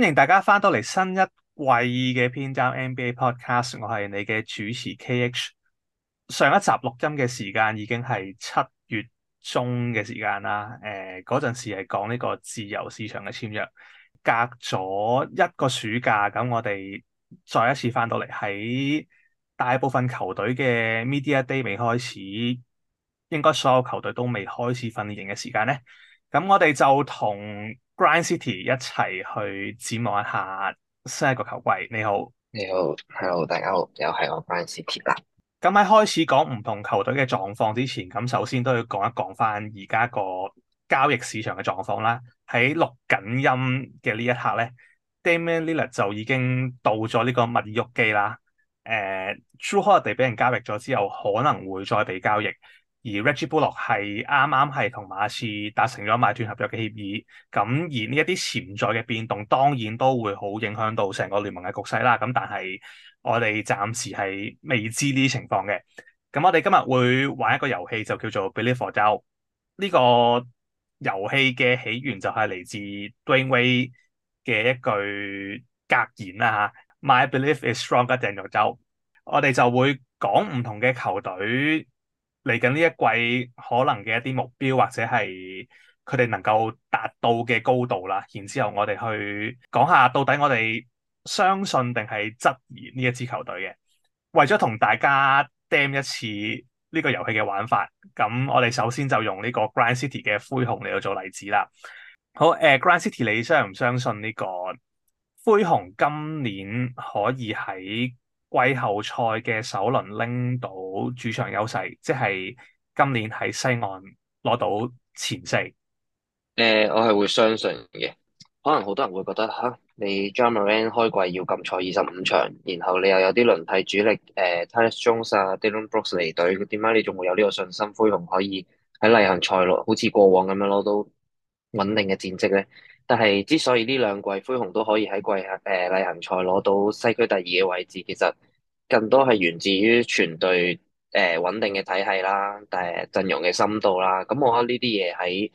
歡迎大家翻到嚟新一季嘅篇章 NBA Podcast，我係你嘅主持 KH。上一集錄音嘅時間已經係7月中嘅時間啦。嗰陣時係講呢個自由市場嘅簽約，隔咗一個暑假，咁我哋再一次翻到嚟，喺大部分球隊嘅 Media Day 未開始，應該所有球隊都未開始訓練營嘅時間咧。咁我哋就同 Grind City 一齊去展望一下新一個球季。你好， 你好，Hello，大家好，又係我 Brian City 啦。 咁喺開始講唔同球隊嘅狀況之前，咁首先都要講一講翻而家個交易市場嘅狀況啦。喺錄緊音嘅呢一刻咧，Damian Lillard 就已經到咗呢個密爾沃基啦。Jrue Holiday 俾人交易咗之後，可能會再被交易。而 Reggie Bullock 係啱啱係同馬刺達成咗買斷合約嘅協議，咁而呢一啲潛在嘅變動當然都會好影響到成個聯盟嘅局勢啦。咁但係我哋暫時係未知呢啲情況嘅。咁我哋今日會玩一個遊戲，就叫做 Believe or Doubt。呢個遊戲嘅起源就係嚟自 Dwyane Wade 嘅一句格言啦嚇，My belief is stronger than your doubt。我哋就會講唔同嘅球隊嚟緊呢一季可能嘅一啲目標，或者係佢哋能夠達到嘅高度啦。然之後我哋去講下到底我哋相信定係質疑呢一支球隊嘅。為咗同大家 demo 一次呢個遊戲嘅玩法，咁我哋首先就用呢個 Grind City 嘅灰熊嚟到做例子啦。好，Grind City，你相唔相信呢個灰熊今年可以喺季後賽嘅首輪拎到主場優勢，即係今年喺西岸攞到前四？ 我係會相信嘅。可能好多人會覺得吓，你 Ja Morant 開季要禁賽25場，然後你又有啲輪替主力Tyus Jones 啊、Dillon Brooks 離隊，點解你仲會有呢個信心灰熊可以喺例行賽攞好似過往咁樣攞到穩定嘅戰績咧？但係之所以呢兩季灰熊都可以喺例行賽攞到西區第二嘅位置，其實更多係源自於全隊穩定嘅體系啦，但係陣容嘅深度啦。咁我覺得呢啲嘢喺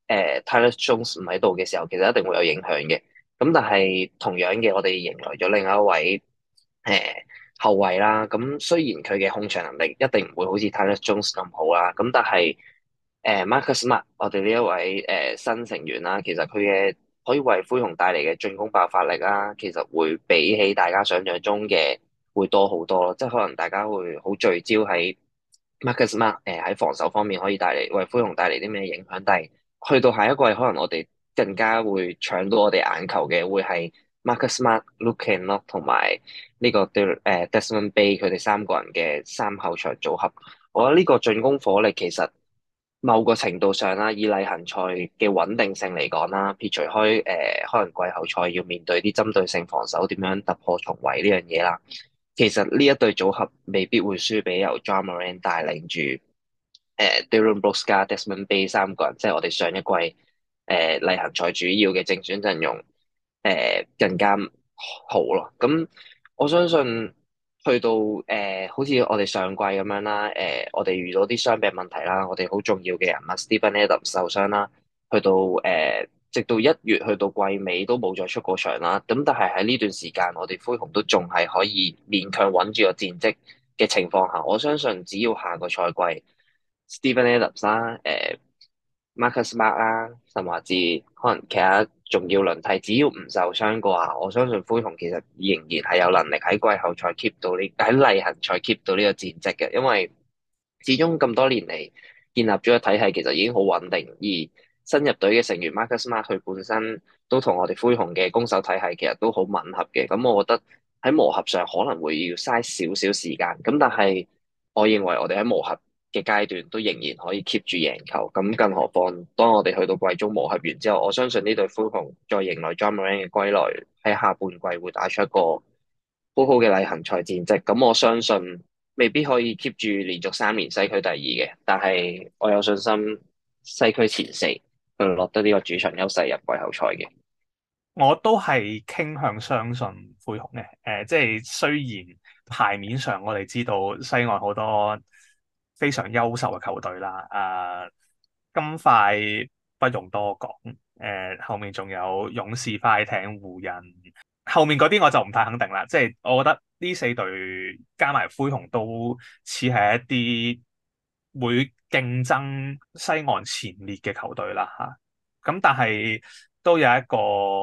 Tyus Jones 唔喺度嘅時候，其實一定會有影響嘅。咁但係同樣嘅，我哋迎來咗另一位後衛啦。咁雖然佢嘅控場能力一定唔會好似 Tyus Jones 咁好啦，咁但係Marcus Smart 我哋呢一位新成員啦，其實佢嘅可以為灰熊帶嚟嘅進攻爆發力啦，其實會比起大家想象中嘅會多好多咯。即係可能大家會好聚焦喺 Marcus Smart 喺防守方面可以為灰熊帶嚟啲咩影響，但係去到下一季，可能我哋更加會搶到我哋眼球嘅，會係 Marcus Smart、Luke Kennard 同埋呢個Desmond Bane 佢哋三個人嘅三後場組合。我覺得呢個進攻火力其實某個程度上啦，以例行賽嘅穩定性嚟講啦，撇除開可能季後賽要面對啲針對性防守點樣突破重圍呢樣嘢啦，其實呢一對組合未必會輸俾由 Ja Morant 帶領住Dillon Brooks 加 Desmond Bane 三個人，即係我哋上一季例行賽主要嘅正選陣容更加好咯。咁我相信去到好似我哋上季咁樣啦，我哋遇到啲傷病問題啦，我哋好重要嘅人物 Steven Adams 受傷啦，去到直到1月去到季尾都冇再出過場啦。咁但係喺呢段時間，我哋灰熊都仲係可以勉強穩住個戰績嘅情況下，我相信只要下個賽季 Steven Adams 啦、Marcus Smart 啦，甚至可能其他重要輪替，只要唔受傷嘅話，我相信灰熊其實仍然係有能力喺季後賽 keep 到喺例行賽 keep 到呢個戰績嘅，因為始終咁多年嚟建立咗個體系，其實已經好穩定，而新入隊嘅成員 Marcus Smart 佢本身都同我哋灰熊嘅攻守體系其實都好吻合嘅，咁我覺得喺磨合上可能會要嘥少少時間，咁但係我認為我哋喺磨合嘅階段都仍然可以 keep 住贏球，咁更何況當我哋去到季中磨合完之後，我相信呢隊灰熊再迎來 Ja Morant 嘅歸來，喺下半季會打出一個好好嘅例行賽戰績。咁我相信未必可以 keep 住連續3年西區第二嘅，但係我有信心西區前四去落得呢個主場優勢入季後賽嘅。 我都係傾向相信灰熊嘅。即係雖然牌面上我哋知道西岸好多非常優秀嘅球隊啦，金塊不容多講。 後面仲有勇士、快艇、湖人，後面嗰啲我就唔太肯定啦。即係我覺得呢四隊加埋灰熊都似係一啲會競爭西岸前列嘅球隊啦嚇。咁但係都有一個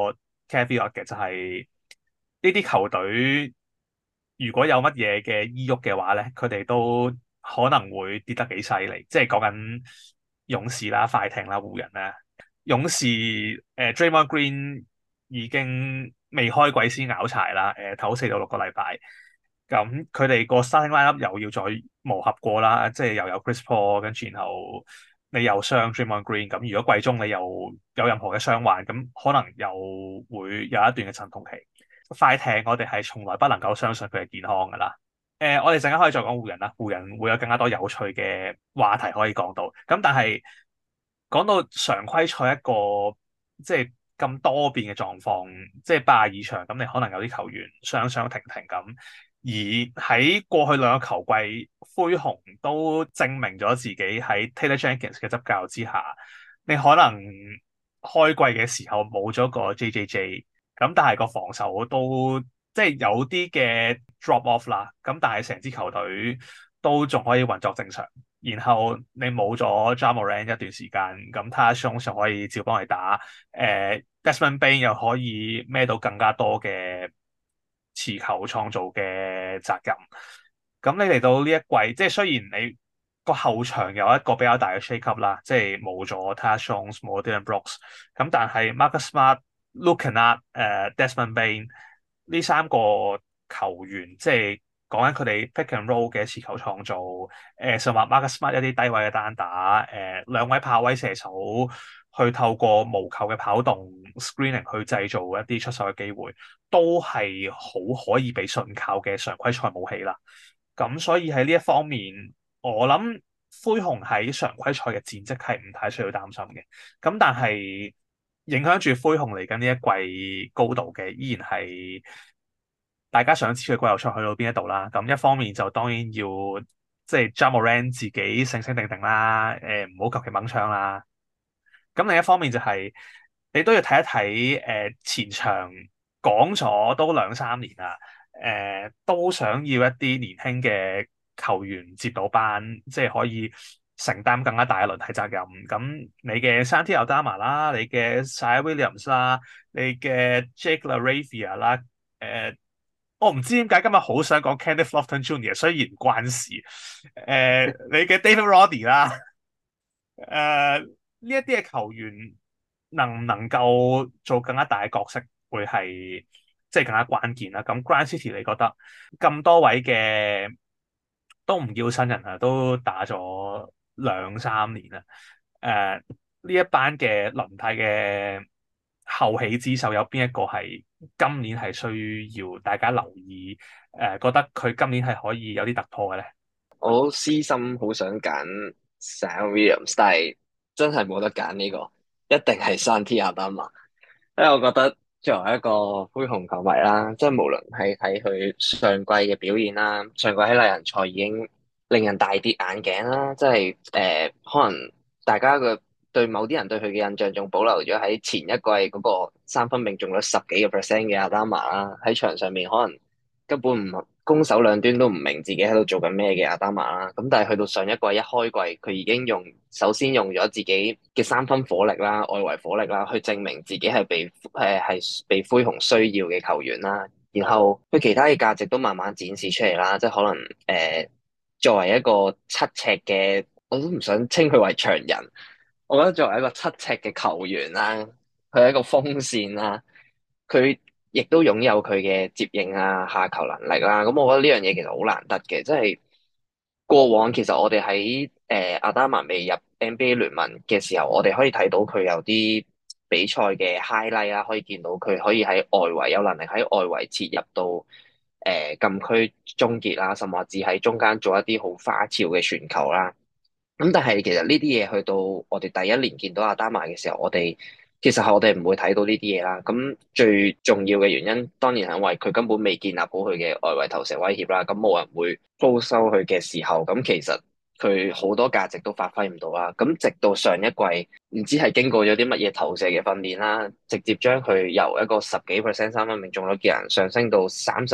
caveat 嘅，就係呢啲球隊如果有乜嘢嘅意郁嘅話咧，佢哋都可能會跌得幾犀利。即係講緊勇士啦、快艇啦、湖人啦。勇士Draymond Green 已經未開季先拗柴啦，頭4到6個禮拜，咁佢哋個 starting lineup 又要再磨合過啦，即係又有 Chris Paul，跟住然後你又傷 Draymond Green，咁如果季中你又有任何嘅傷患，咁可能又會有一段嘅陣痛期。快艇我哋係從來不能夠相信佢係健康㗎啦。我哋陣間可以再講湖人啦，湖人會有更加多有趣嘅話題可以講到，咁但係。講到常規賽一個即係咁多變嘅狀況，即係82場，咁你可能有啲球員傷傷停停咁。而喺過去2個球季，灰熊都證明咗自己喺 Taylor Jenkins 嘅執教之下，你可能開季嘅時候冇咗個 JJJ，咁但係個防守都即係有啲嘅 drop off 啦。咁但係成支球隊都仲可以運作正常。然後你冇咗 Ja Morant 一段時間，咁 Tyus Jones 就可以照幫你打，Desmond Bane 又可以孭到更加多嘅持球創造嘅責任。咁你嚟到呢一季，即係雖然你個後場有一個比較大嘅 shake up 啦，即係冇咗 Tyus Jones 冇 Dillon Brooks，咁但係 Marcus Smart、Luke Kennard、Desmond Bane 呢3個球員，即係講緊佢哋 pick and roll 嘅持球創造，甚至 Marcus Smart 一啲低位嘅單打，2位跑位射手去透過無球嘅跑動 screening 去製造一啲出手嘅機會，都係好可以被信靠嘅常規賽武器啦。咁所以喺呢一方面，我諗灰熊喺常規賽嘅戰績係唔太需要擔心嘅。咁但係影響住灰熊嚟緊呢一季高度嘅，依然係大家想知佢季後賽去到邊一度啦。咁一方面就當然要即係 Ja Morant 自己醒醒定定啦，唔好求其掹槍啦。咁另一方面就係你都要睇一睇前場講咗都2、3年啦，都想要一啲年輕嘅球員接到班，即係可以承擔更加大嘅輪替責任。咁你嘅 Santi Aldama 啦，你嘅 Ziaire Williams 啦，你嘅 Jake LaRavia 啦，我唔知點解今日好想講 Kenneth Lofton Jr.，雖然唔關事。你嘅 David Roddy 啦。呢一啲嘅球員能唔能夠做更加大嘅角色，會係即係更加關鍵啦。咁 Grind City 你覺得咁多位嘅都唔叫新人啊，都打咗2、3年啦。呢一班嘅輪替嘅後起之秀有邊一個係今年係需要大家留意？覺得佢今年係可以有啲突破嘅咧？ 我私心好想揀 Zion Williams，但係真係冇得揀呢個，一定係 Santi Aldama。因為我覺得作為一個灰熊球迷啦，即係無論係睇佢上季嘅表現啦，上季喺例行賽已經令人大跌眼鏡啦，即係可能大家嘅對某啲人對佢嘅印象仲保留咗喺前一季嗰個三分命中率10幾個 percent 嘅 Aldama 啦，喺場上面可能根本唔攻守兩端都唔明自己喺度做緊咩嘅 Aldama 啦，咁但係去到上一季一開季，佢已經首先用咗自己嘅三分火力啦、外圍火力啦，去證明自己係被灰熊需要嘅球員啦。然後佢其他嘅價值都慢慢展示出嚟啦，即係可能作為一個7尺嘅，我都唔想稱佢為長人。我覺得作為一個7尺嘅球員啦，佢係一個鋒線啦，佢亦都擁有佢嘅接應啊、下球能力啦。咁我覺得呢樣嘢其實好難得嘅，即係過往其實我哋喺阿達曼未入 NBA 聯盟嘅時候，我哋可以睇到佢有啲比賽嘅 highlight 啦，可以見到佢可以喺外圍有能力喺外圍切入到禁區終結啦，甚至喺中間做一啲好花俏嘅傳球啦。咁但係其實呢啲嘢去到我哋第一年見到阿丹馬嘅時候，其實係我哋唔會睇到呢啲嘢啦。咁最重要嘅原因，當然係因為佢根本未建立好佢嘅外圍投射威脅啦。咁冇人會高收佢嘅時候，咁其實佢好多價值都發揮唔到啦。咁直到上一季，唔知係經過咗啲乜嘢投射嘅訓練啦，直接將佢由一個10幾% 三分命中率嘅人上升到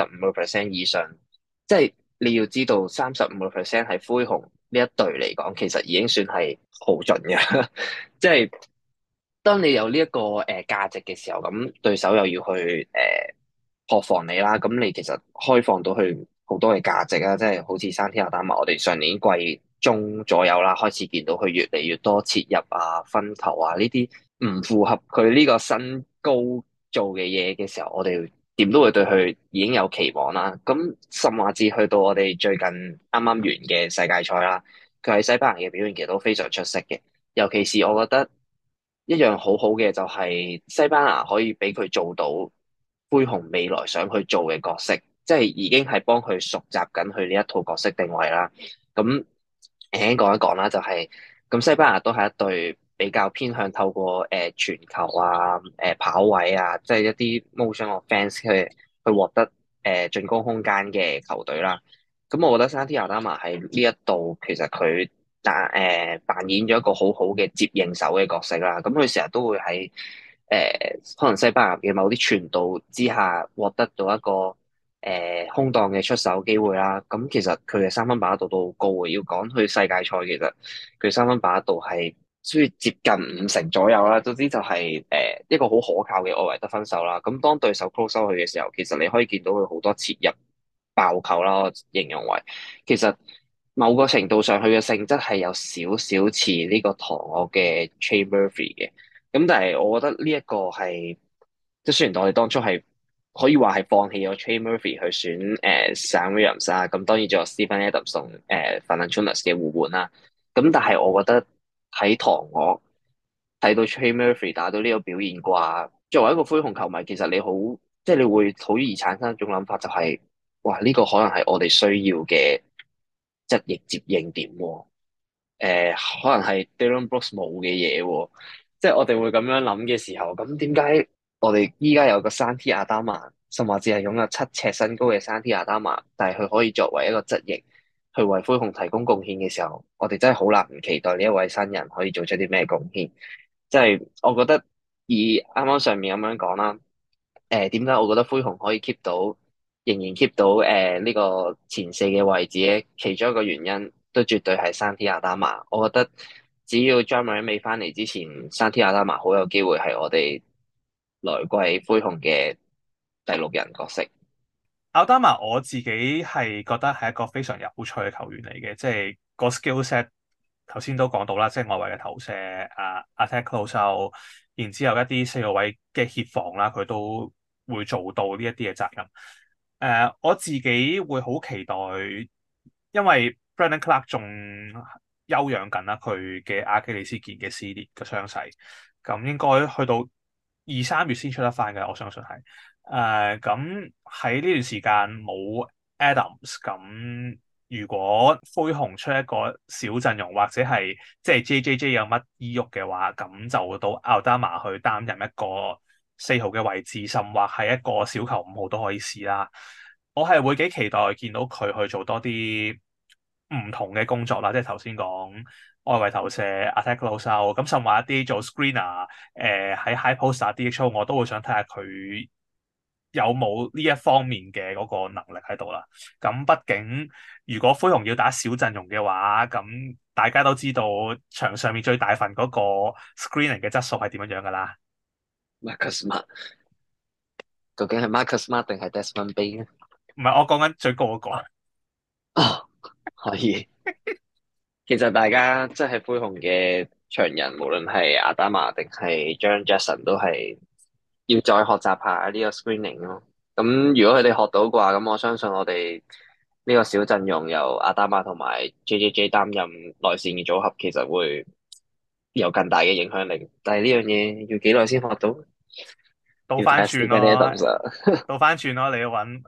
35% 以上。即係你要知道，35% 係灰熊呢一隊嚟講，其實已經算係好盡嘅。即係當你有呢一個價值嘅時候，咁對手又要去破防你啦，咁你其實開放到去好多嘅價值啊，即係好似山天亞打埋我哋上年季中左右啦，開始見到佢越嚟越多切入啊、分球啊呢啲唔符合佢呢個身高做嘅嘢嘅時候，我哋點都會對佢已經有期望啦。咁甚至去到我哋最近啱啱完嘅世界賽啦，佢喺西班牙嘅表現其實都非常出色嘅，尤其是我覺得一樣好好嘅就係西班牙可以俾佢做到灰熊未來想去做嘅角色，即係已經係幫佢熟習緊佢呢一套角色定位啦。咁輕輕講一講啦，就係咁西班牙都係一隊比較偏向透過傳球啊、跑位啊，即係一啲 motion offense 去獲得進攻空間嘅球隊啦。咁我覺得山 T 亞丹馬喺呢一度其實佢扮演咗一個好好嘅接應手嘅角色啦。咁佢成日都會喺可能西班牙嘅某啲傳導之下獲得到一個空檔嘅出手機會啦。咁其實佢嘅三分把握度都好高嘅。要講去世界賽，其實佢三分把握度係需要接近50%左右啦。總之就係一個好可靠嘅外圍得分手啦。咁當對手 close 收佢嘅時候，其實你可以見到佢好多切入爆球啦。我形容為其實某個程度上，佢嘅性質係有少少似呢個唐我嘅 Trey Murphy 嘅。咁但係我覺得呢一個係，即係雖然我哋當初係可以話係放棄咗 Trey Murphy 去選Zion Williams 啦，咁當然仲有 Steven Adams 同Valanciunas 嘅互換啦。咁但係我覺得喺唐我睇到 Trey Murphy 打到呢個表現啩，作為一個灰熊球迷，其實你好即係你會好易產生一種諗法，就係哇呢個可能係我哋需要嘅側翼接應點喎。可能係 Dillon Brooks 冇嘅嘢喎，即係我哋會咁樣諗嘅時候，咁點解我哋依家有個山 T 亞丹馬，甚至係擁有7尺身高嘅山 T 亞丹馬，但係佢可以作為一個側翼去為灰熊提供貢獻嘅時候，我哋真係好難唔期待呢一位新人可以做出啲咩貢獻。即係我覺得以啱啱上面咁樣講啦，點解我覺得灰熊可以 keep 到，仍然 keep 到呢個前四嘅位置咧？其中一個原因都絕對係山 T 亞丹馬。我覺得只要 Ja Morant 未翻嚟之前，山 T 亞丹馬好有機會係我哋來季灰熊嘅第六人角色。 奧丹馬我自己係覺得係一個非常有趣嘅球員嚟嘅，即係個 skill set 頭先都講到啦，即係外圍嘅投射attack close out，然之後一啲四號位嘅協防啦，佢都會做到呢一啲嘅責任。我自己會好期待，因為 Brandon Clark 仲休養緊啦，佢嘅阿基里斯腱嘅撕裂嘅傷勢，咁應該去到2、3月先出得翻嘅，我相信係。咁喺呢段時間冇 Adams，咁如果灰熊出一個小陣容或者係即係 JJJ 有乜意郁嘅話，咁就到奧丹馬去擔任一個4號嘅位置，甚或係一個小球5號都可以試啦。我係會幾期待見到佢去做多啲唔同嘅工作啦，即係頭先講外圍投射、attack close out，咁甚或一啲做 screener，喺 high post 打 DHO，我都會想睇下佢有冇呢一方面嘅嗰個能力喺度啦。咁畢竟如果灰熊要打小陣容嘅話，咁大家都知道場上面最大份嗰個 screening 嘅質素係點樣樣噶啦。 Marcus Smart 究竟係 Marcus Smart 定係 Desmond Bane 咧？ 唔係我講緊最高嗰個。 哦，可以。其實大家即係灰熊嘅長人，無論係阿達瑪定係 Jaren Jackson，都係要再學習下呢個 screening 咯。咁如果佢哋學到嘅話，咁我相信我哋呢個小陣容由阿達瑪同埋 JJJ 擔任內線嘅組合，其實會有更大嘅影響力。但係呢樣嘢要幾耐先學到？ 倒翻要睇下轉咯， Steven Adams 啊。 倒翻轉咯，你要揾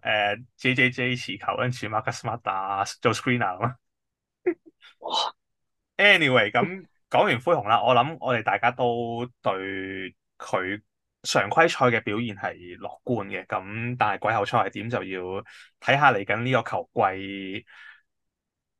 JJJ 持球，跟住 Marcus Smart 打做 screener 咯。 哇， Anyway，咁講完灰熊啦，我諗我哋大家都對佢常規賽嘅表現係樂觀嘅，咁但係季後賽係點就要睇下嚟緊呢個球季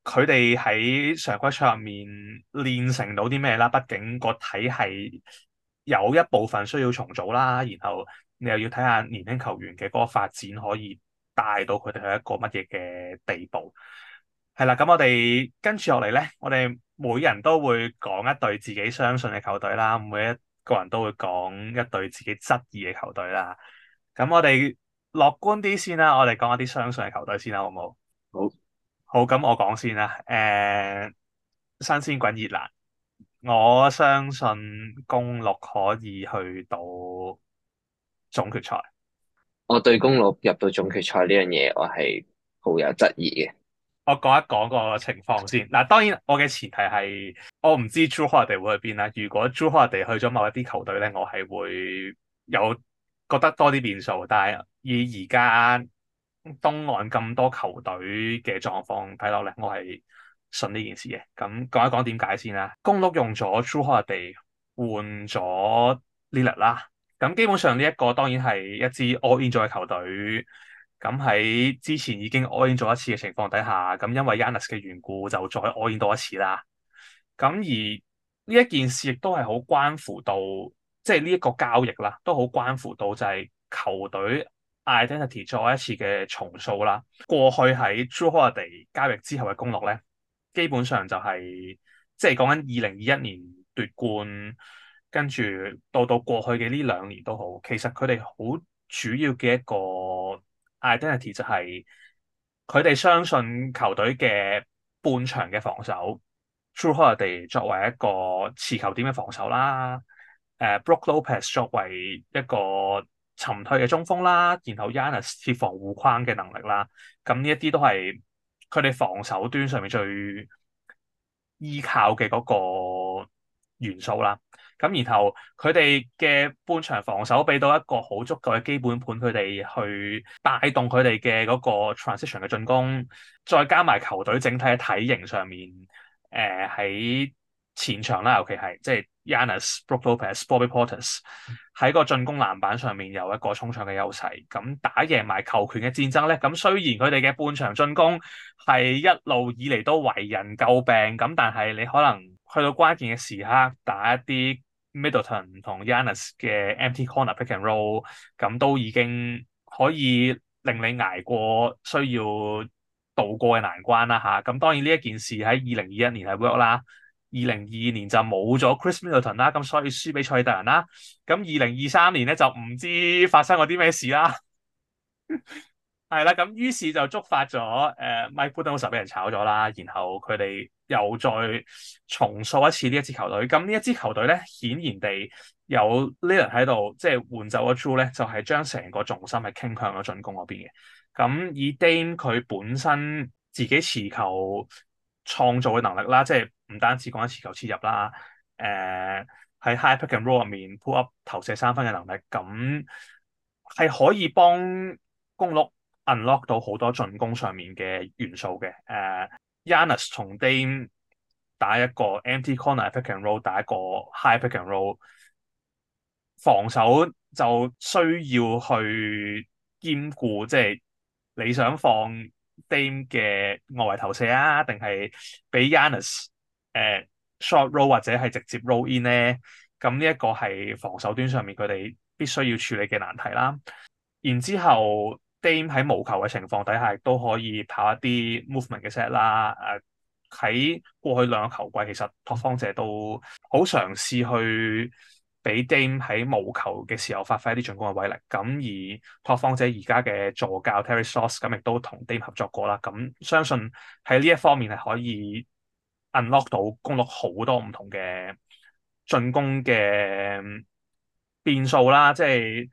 佢哋喺常規賽入面練成到啲咩啦？畢竟個體系有一部分需要重組啦，然後你又要睇下年輕球員嘅嗰個發展可以帶到佢哋去一個乜嘢嘅地步。係啦，咁我哋跟住落嚟咧，我哋每人都會講一隊自己相信嘅球隊啦，每一個人都會講一隊自己質疑嘅球隊啦。咁我哋樂觀啲先啦，我哋講一啲相信嘅球隊先啦，好唔好？ 好， 好，咁我講先啦。新鮮滾熱辣，我相信公鹿可以去到總決賽。 我對公鹿入到總決賽呢樣嘢，我係好有質疑嘅。 我講一講個情況先。嗱，當然我嘅前提係我唔知 Jrue Holiday 會去邊啦。如果 Jrue Holiday 去咗某一啲球隊咧，我係會有覺得多啲變數。但係以而家東岸咁多球隊嘅狀況睇落咧，我係信呢件事嘅。咁講一講點解先啦。公鹿用咗 Jrue Holiday 換咗 Lillard 啦。咁基本上呢一個當然係一支 all in 咗嘅球隊。咁喺之前已經 all in 咗一次嘅情況底下，咁因為 Giannis 嘅緣故就再 all in 多一次啦。咁而呢一件事亦都係好關乎到，即係呢一個交易啦，都好關乎到就係球隊 identity 再一次嘅重塑啦。過去喺 Jrue Holiday 交易之後嘅公鹿咧，基本上就係即係講緊2021年奪冠，跟住到過去嘅呢2年都好，其實佢哋好主要嘅一個 identity 就係佢哋相信球隊嘅半場嘅防守，Jrue Holiday 作為一個持球點嘅防守啦，Brook Lopez 作為一個沉退嘅中鋒啦，然後 Giannis 設防護框嘅能力啦，咁呢一啲都係佢哋防守端上面最依靠嘅嗰個元素啦。咁然後佢哋嘅半場防守俾到一個好足夠嘅基本盤，佢哋去帶動佢哋嘅嗰個 transition 嘅進攻，再加埋球隊整體嘅體型上面，喺前場啦，尤其係即係 Giannis、Brook Lopez、Bobby Portis 喺個進攻籃板上面有一個衝搶嘅優勢，咁打贏埋球權嘅戰爭咧。咁雖然佢哋嘅半場進攻係一路以嚟都為人詬病，咁但係你可能去到關鍵嘅時刻打一啲 Middleton 同 Giannis 嘅 empty corner pick and roll，咁都已經可以令你捱過需要渡過嘅難關啦嚇。咁當然呢一件事喺2021年係 work 啦。2022年就冇咗 Chris Middleton 啦，咁所以輸俾賽特人啦。咁2023年咧就唔知發生過啲咩事啦。係啦，咁於是就觸發咗Mike Budenholzer 俾人炒咗啦，然後佢哋又再重塑一次呢一支球隊。咁呢一支球隊咧，顯然地有 Lillard 喺度，即係換走咗 Jrue 咧，就係將成個重心係傾向咗進攻嗰邊嘅。咁以 Dame 佢本身自己持球創造嘅能力啦，即係唔單止講緊持球切入啦，喺 high pick and roll 入面 pull up 投射3分嘅能力，咁係可以幫公鹿 unlock 到好多進攻上面嘅元素嘅。Giannis 同 Dame 打一個 empty corner pick and roll， 打一個 high pick and roll， 防守就需要去兼顧，即係你想放 Dame 嘅外圍投射啊，定係俾 Giannis short roll 或者係直接 roll in 咧？咁呢一個係防守端上面佢哋必須要處理嘅難題啦。然之後 Dame 喺無球嘅情況底下，亦都可以跑一啲 movement 嘅 set 啦。喺過去2個球季，其實拓荒者都好嘗試去俾 Dame 喺無球嘅時候發揮一啲進攻嘅威力。咁而拓荒者而家嘅助教 Terry Stotts 咁亦都同 Dame 合作過啦。咁相信喺呢一方面係可以 unlock 到公鹿好多唔同嘅進攻嘅變數啦，即係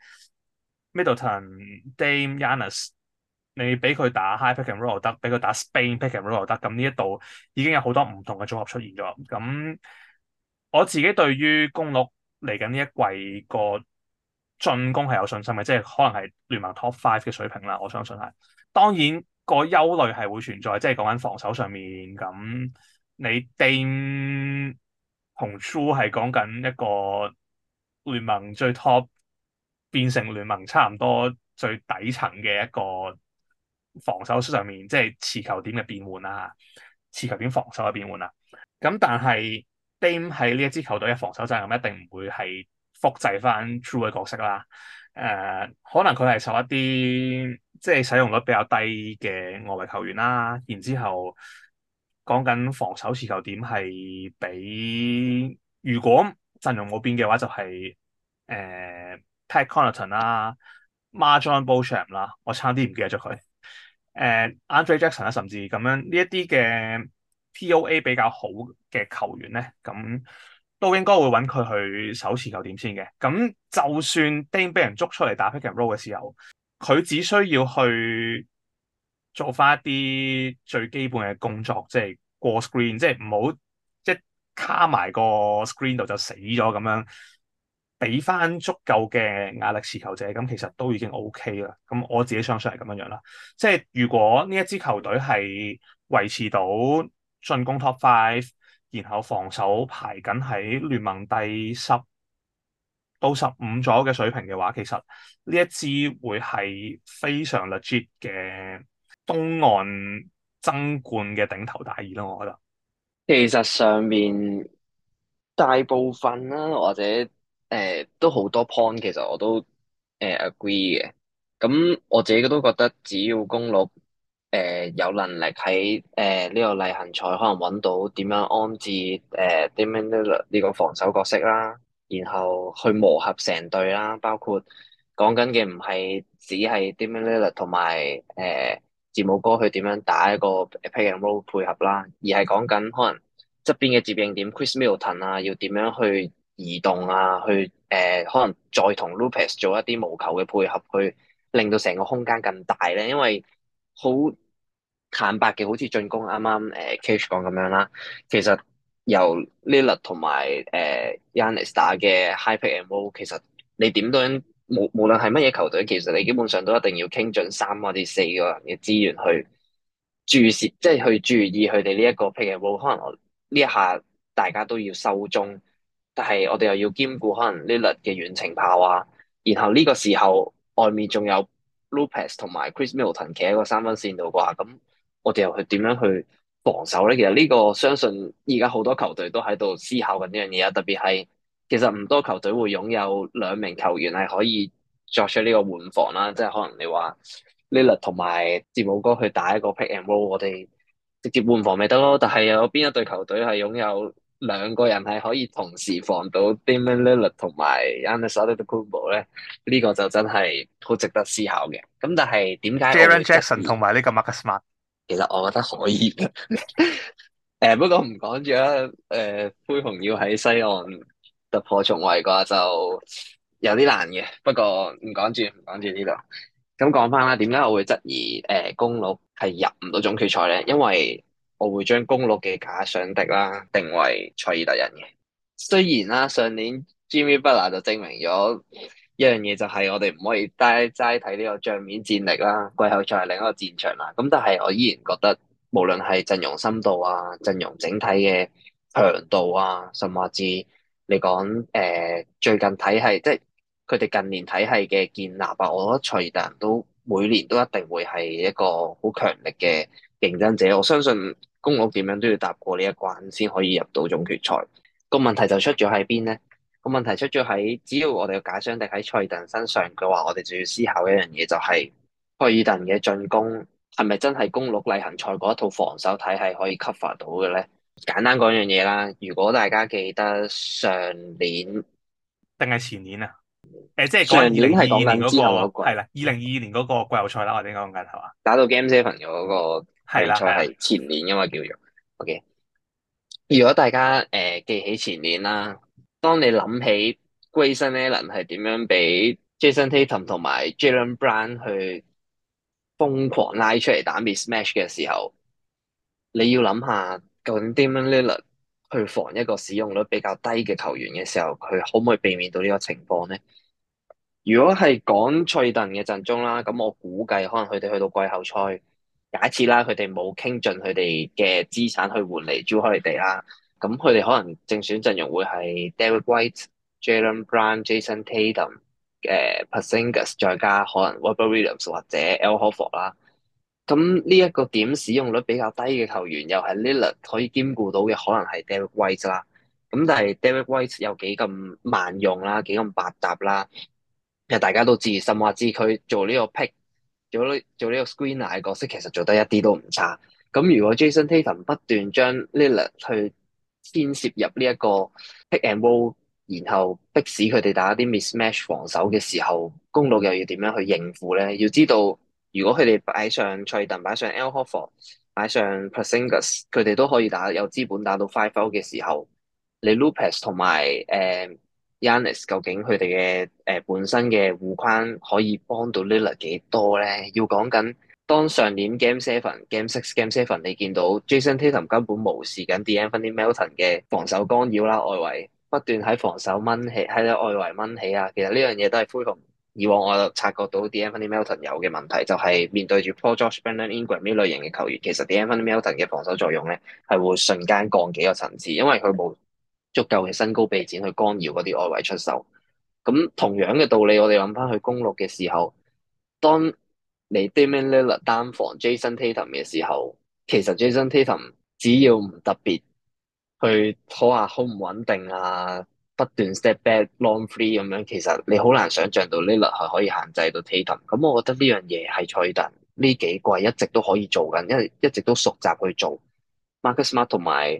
Middleton、Dame、Giannis， 你俾佢打 high pick and roll 又得，俾佢打 Spain pick and roll 又得，咁呢一度已經有好多唔同嘅組合出現咗。咁我自己對於公鹿嚟緊呢一季個進攻係有信心嘅，即係可能係聯盟 top 5嘅水平啦，我相信係。當然個憂慮係會存在，即係講緊防守上面咁。你 Dame 同 Jrue 係講緊一個聯盟最 top 變成聯盟差唔多最底層嘅一個防守上面，即係持球點嘅變換啦。 持球點防守嘅變換啦。咁但係 Dame 喺呢一支球隊嘅防守責任一定唔會係複製翻 True 嘅角色啦。可能佢係受一啲即係使用率比較低嘅外圍球員啦，然之後講緊防守持球點係比如果陣容冇變嘅話就係、Pat Connaughton 啦、MarJon Beauchamp 啦，我差啲唔記得咗佢。Andre Jackson 啦，甚至咁樣呢一啲嘅 POA 比較好嘅球員咧，咁都應該會揾佢去守持球點先嘅。咁就算 Dame 俾人捉出嚟打 pick and roll 嘅時候，佢只需要去做翻一啲最基本嘅工作，即係過 screen，即係唔好一卡埋個 screen 度就死咗咁樣，俾翻足夠嘅壓力持球者，咁其實都已經 OK 啦。咁我自己相信係咁樣樣啦。即係如果呢一支球隊係維持到進攻 top five，然後防守排緊喺聯盟第10到15左右嘅水平嘅話，其實呢一支會係非常 legit 嘅東岸爭冠嘅頂頭大義咯，我覺得。 其實上面大部分啦，或者都好多 point，其實我都agree 嘅。咁我自己都覺得，只要公鹿有能力喺呢個例行賽可能揾到點樣安置Damian Lillard 呢個防守角色啦，然後去磨合成隊啦，包括講緊嘅唔係只係 Damian Lillard 同埋字母哥去點樣打一個 pick and roll 配合啦，而係講緊可能側邊嘅接應點 Chris Middleton 啊，要點樣去移動啊，去可能再同 Lopez 做一啲無球嘅配合，去令到成個空間更大咧。因為好坦白嘅，好似進攻啱啱Cage 講咁樣啦，其實由 Lillard 同埋Giannis 打嘅 high pick and roll，其實你點都無論係乜嘢球隊，其實你基本上都一定要傾盡3或者4個人嘅資源去注視，即係去注意佢哋呢一個 pick and roll。可能我呢一下大家都要收中，但係我哋又要兼顧可能 Lillard 嘅遠程炮啊，然後呢個時候外面仲有 Lopez 同埋 Chris Middleton 企喺個3分線度啩，咁我哋又去點樣去防守咧？其實呢個相信而家好多球隊都喺度思考緊呢樣嘢啊，特別係其實唔多球隊會擁有2名球員係可以作出呢個換防啦，即係可能你話 Lillard 同埋字母哥去打一個 pick and roll，我哋直接換防咪得咯。但係有邊一隊球隊係擁有2個人係可以同時防到 Damian Lillard 同埋 Giannis Antetokounmpo 咧？呢個就真係好值得思考嘅。咁但係點解我 Jaren 會質 Jackson 疑？ 同埋呢個 Marcus Smart。 其實我覺得可以嘅。不過唔講住啦。灰熊要喺西岸突破重圍嘅話，就有啲難嘅。不過唔講住，唔講住呢度。咁講翻啦，點解我會質疑公鹿係入唔到總決賽咧？因為我會將公鹿嘅假想敵啦定為賽爾特人嘅。雖然啦，上年 Jimmy Butler 就證明咗一樣嘢，就係我哋唔可以齋睇呢個賬面戰力啦，季後賽係另一個戰場啦。咁但係我依然覺得，無論係陣容深度啊、陣容整體嘅強度啊，甚至你講最近體系，即係佢哋近年體系嘅建立啊，我覺得賽爾特人都每年都一定會係一個好強力嘅競爭者。我相信公鹿點樣都要踏過呢一關，先可以入到總決賽。個問題就出咗喺邊咧？個問題出咗喺，只要我哋嘅假想敵喺賽爾特人身上嘅話，我哋就要思考一樣嘢，就係賽爾特人嘅進攻係咪真係公鹿例行賽嗰一套防守體系可以 cover 到嘅咧？簡單講樣嘢啦，如果大家記得上年定係前年啊？即係講緊二上年係零二二年嗰講緊之後個係啦， 嗰季 2022年嗰個季後賽啦，我哋應該講緊係嘛？ 打到 Game Seven 嘅嗰個係啦， 比賽係啦， 係前年，因為叫做 OK。如果大家記起前年啦，當你諗起 Grayson Allen 係點樣俾 Jason Tatum 同埋 Jaylen Brown 去瘋狂拉出嚟打 mismatch 嘅時候，你要諗下究竟 Damian Lillard 去防一個使用率比較低嘅球員嘅時候，佢可唔可以避免到呢個情況咧？如果係講賽頓嘅陣中啦，咁我估計可能佢哋去到季後賽，假設啦，佢哋冇傾盡佢哋嘅資產去換嚟 Jrue Holiday 啦，咁佢哋可能正選陣容會係 Derrick White、Jaylen Brown、Jason Tatum、Porzingis 再加可能 Robert Williams 或者 Al Horford 啦。 咁呢一個點使用率比較低嘅球員，又係 Lillard 可以兼顧到嘅，可能係 Derrick White 啦。咁但係 Derrick White 有幾咁萬用啦，幾咁百搭啦。其實大家都知，甚或知佢做呢個 pick，做呢個 screener 嘅角色，其實做得一啲都唔差。咁如果 Jason Tatum 不斷將 Lillard 去牽涉入呢一個 pick and roll，然後迫使佢哋打一啲 mismatch 防守嘅時候，公鹿又要點樣去應付咧？要知道，如果佢哋擺上賽頓、擺上 Al Horford、擺上 Porzingis，佢哋都可以打有資本打到 five out 嘅時候，你 Lopez 同埋Giannis 究竟佢哋嘅本身嘅護框可以幫到 Lillard 幾多咧？要講緊當上年 Game Seven、Game Six、Game Seven，你見到 Jason Tatum 根本無視緊 D'Anthony Melton 嘅防守干擾啦，外圍不斷喺防守掹起，喺外圍掹起啊！其實呢樣嘢都係恢復以往我察覺到 D'Anthony Melton 有嘅問題，就係面對住 Paul George、Brandon Ingram 呢類型嘅球員，其實 D'Anthony Melton 嘅防守作用咧係會瞬間降幾個層次，因為佢冇足夠嘅身高臂展去干擾嗰啲外圍出手。咁同樣嘅道理，我哋諗翻去公鹿嘅時候，當你 Damian Lillard 單防 Jason Tatum 嘅時候，其實 Jason Tatum 只要唔特別去拖下好唔穩定啊，不斷 step back long three 咁樣，其實你好難想象到 Lillard 係可以限制到 Tatum。咁我覺得呢樣嘢係賽特呢幾季一直都可以做緊，因為一直都熟習去做。Marcus Smart 同埋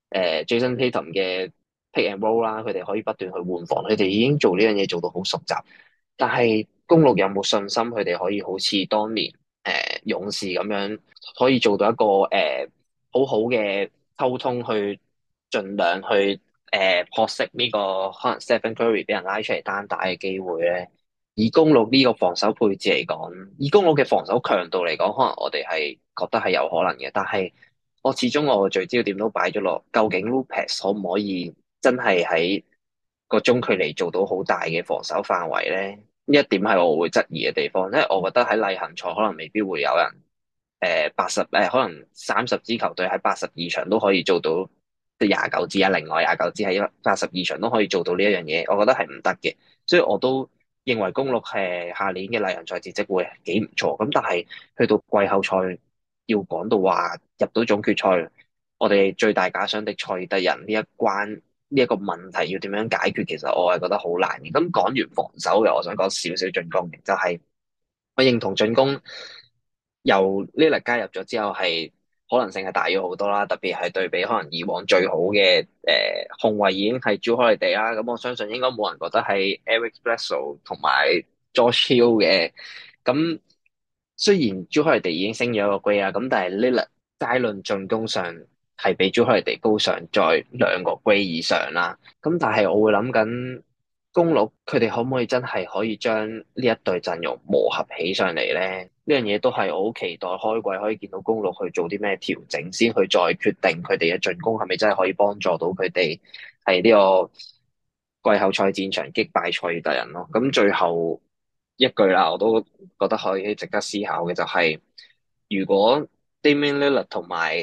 Jason Tatum 嘅 pick and roll 啦，佢哋可以不斷去換防，佢哋已經做呢樣嘢做到好熟習。但係公鹿有冇信心佢哋可以好似當年勇士咁樣，可以做到一個好好嘅溝通，去盡量去撲熄呢個可能 Stephen Curry 俾人拉出嚟單打嘅機會咧？以公鹿呢個防守配置嚟講，以公鹿嘅防守強度嚟講，可能我哋係覺得係有可能嘅，但係我始終聚焦點都擺咗落，究竟 Lopez 可唔可以真係喺個中距離做到好大嘅防守範圍咧？呢一點係我會質疑嘅地方，因為我覺得喺例行賽可能未必會有人可能30支球隊喺82場都可以做到即係廿九支啊，另外廿九支喺82場都可以做到呢一樣嘢，我覺得係唔得嘅，所以我都認為公鹿係下年嘅例行賽戰績會幾唔錯，咁但係去到季後賽要講到話入到總決賽，我哋最大假想敵賽爾特人呢一關。呢一個問題要點樣解決，其實我係覺得好難嘅。咁講完防守嘅，我想講少少進攻嘅，就係我認同進攻由 Lillard 加入咗之後，係可能性係大咗好多啦。特別係對比可能以往最好嘅控衛已經係 Jrue Holiday 啦。咁我相信應該冇人覺得係 Eric Bledsoe 同埋 George Hill 嘅。咁雖然 Jrue Holiday 已經升咗一個 grade 啦，咁但係 Lillard 齋論進攻上係比 Jrue Holiday 高上再兩個 grade 以上啦。咁但係我會諗緊公鹿佢哋可唔可以真係可以將呢一隊陣容磨合起上嚟咧？呢樣嘢都係我好期待開季可以見到公鹿去做啲咩調整，先去再決定佢哋嘅進攻係咪真係可以幫助到佢哋係呢個季後賽戰場擊敗賽爾特人咯。咁最後一句啦，我都覺得可以值得思考嘅就係、如果 Damian Lillard 同埋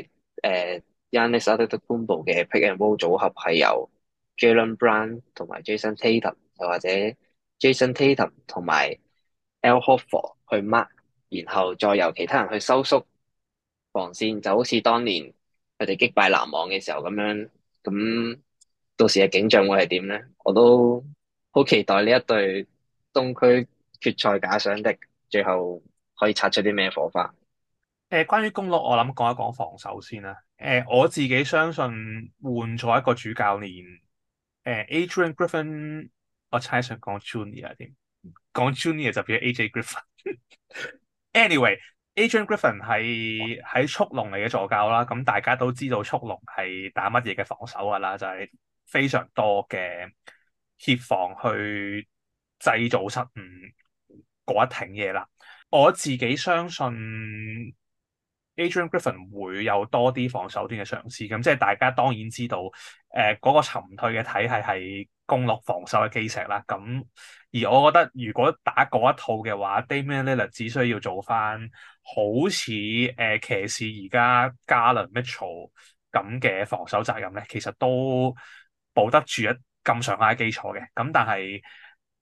Giannis Antetokounmpo 嘅 pick and roll 組合係由 Jaylen Brown 同埋 Jason Tatum，又或者 Jason Tatum 同埋 Al Horford 去 mark，然後再由其他人去收縮防線，就好似當年佢哋擊敗籃網嘅時候咁樣。咁到時嘅景象會係點咧？我都好期待呢一隊東區決賽假想敵最後可以擦出啲咩火花。 關於公鹿，我諗講一講防守先啦。我自己相信換咗一個主教練，Adrian Griffin，我猜想講 Junior 添，講 Junior 就變咗 AJ Griffin。Anyway，Adrian Griffin 係喺速龍嚟嘅助教啦，咁大家都知道速龍係打乜嘢嘅防守噶啦，就係非常多嘅協防去製造失誤嗰一挺嘢啦。我自己相信 Adrian Griffin 會有多啲防守端嘅嘗試，咁即係大家當然知道，嗰個沉退嘅體系係公鹿防守嘅基石啦。咁而我覺得如果打嗰一套嘅話，Damian Lillard 只需要做翻好似騎士而家 Garland Mitchell 咁嘅防守責任咧，其實都保得住一咁上下嘅基礎嘅。咁但係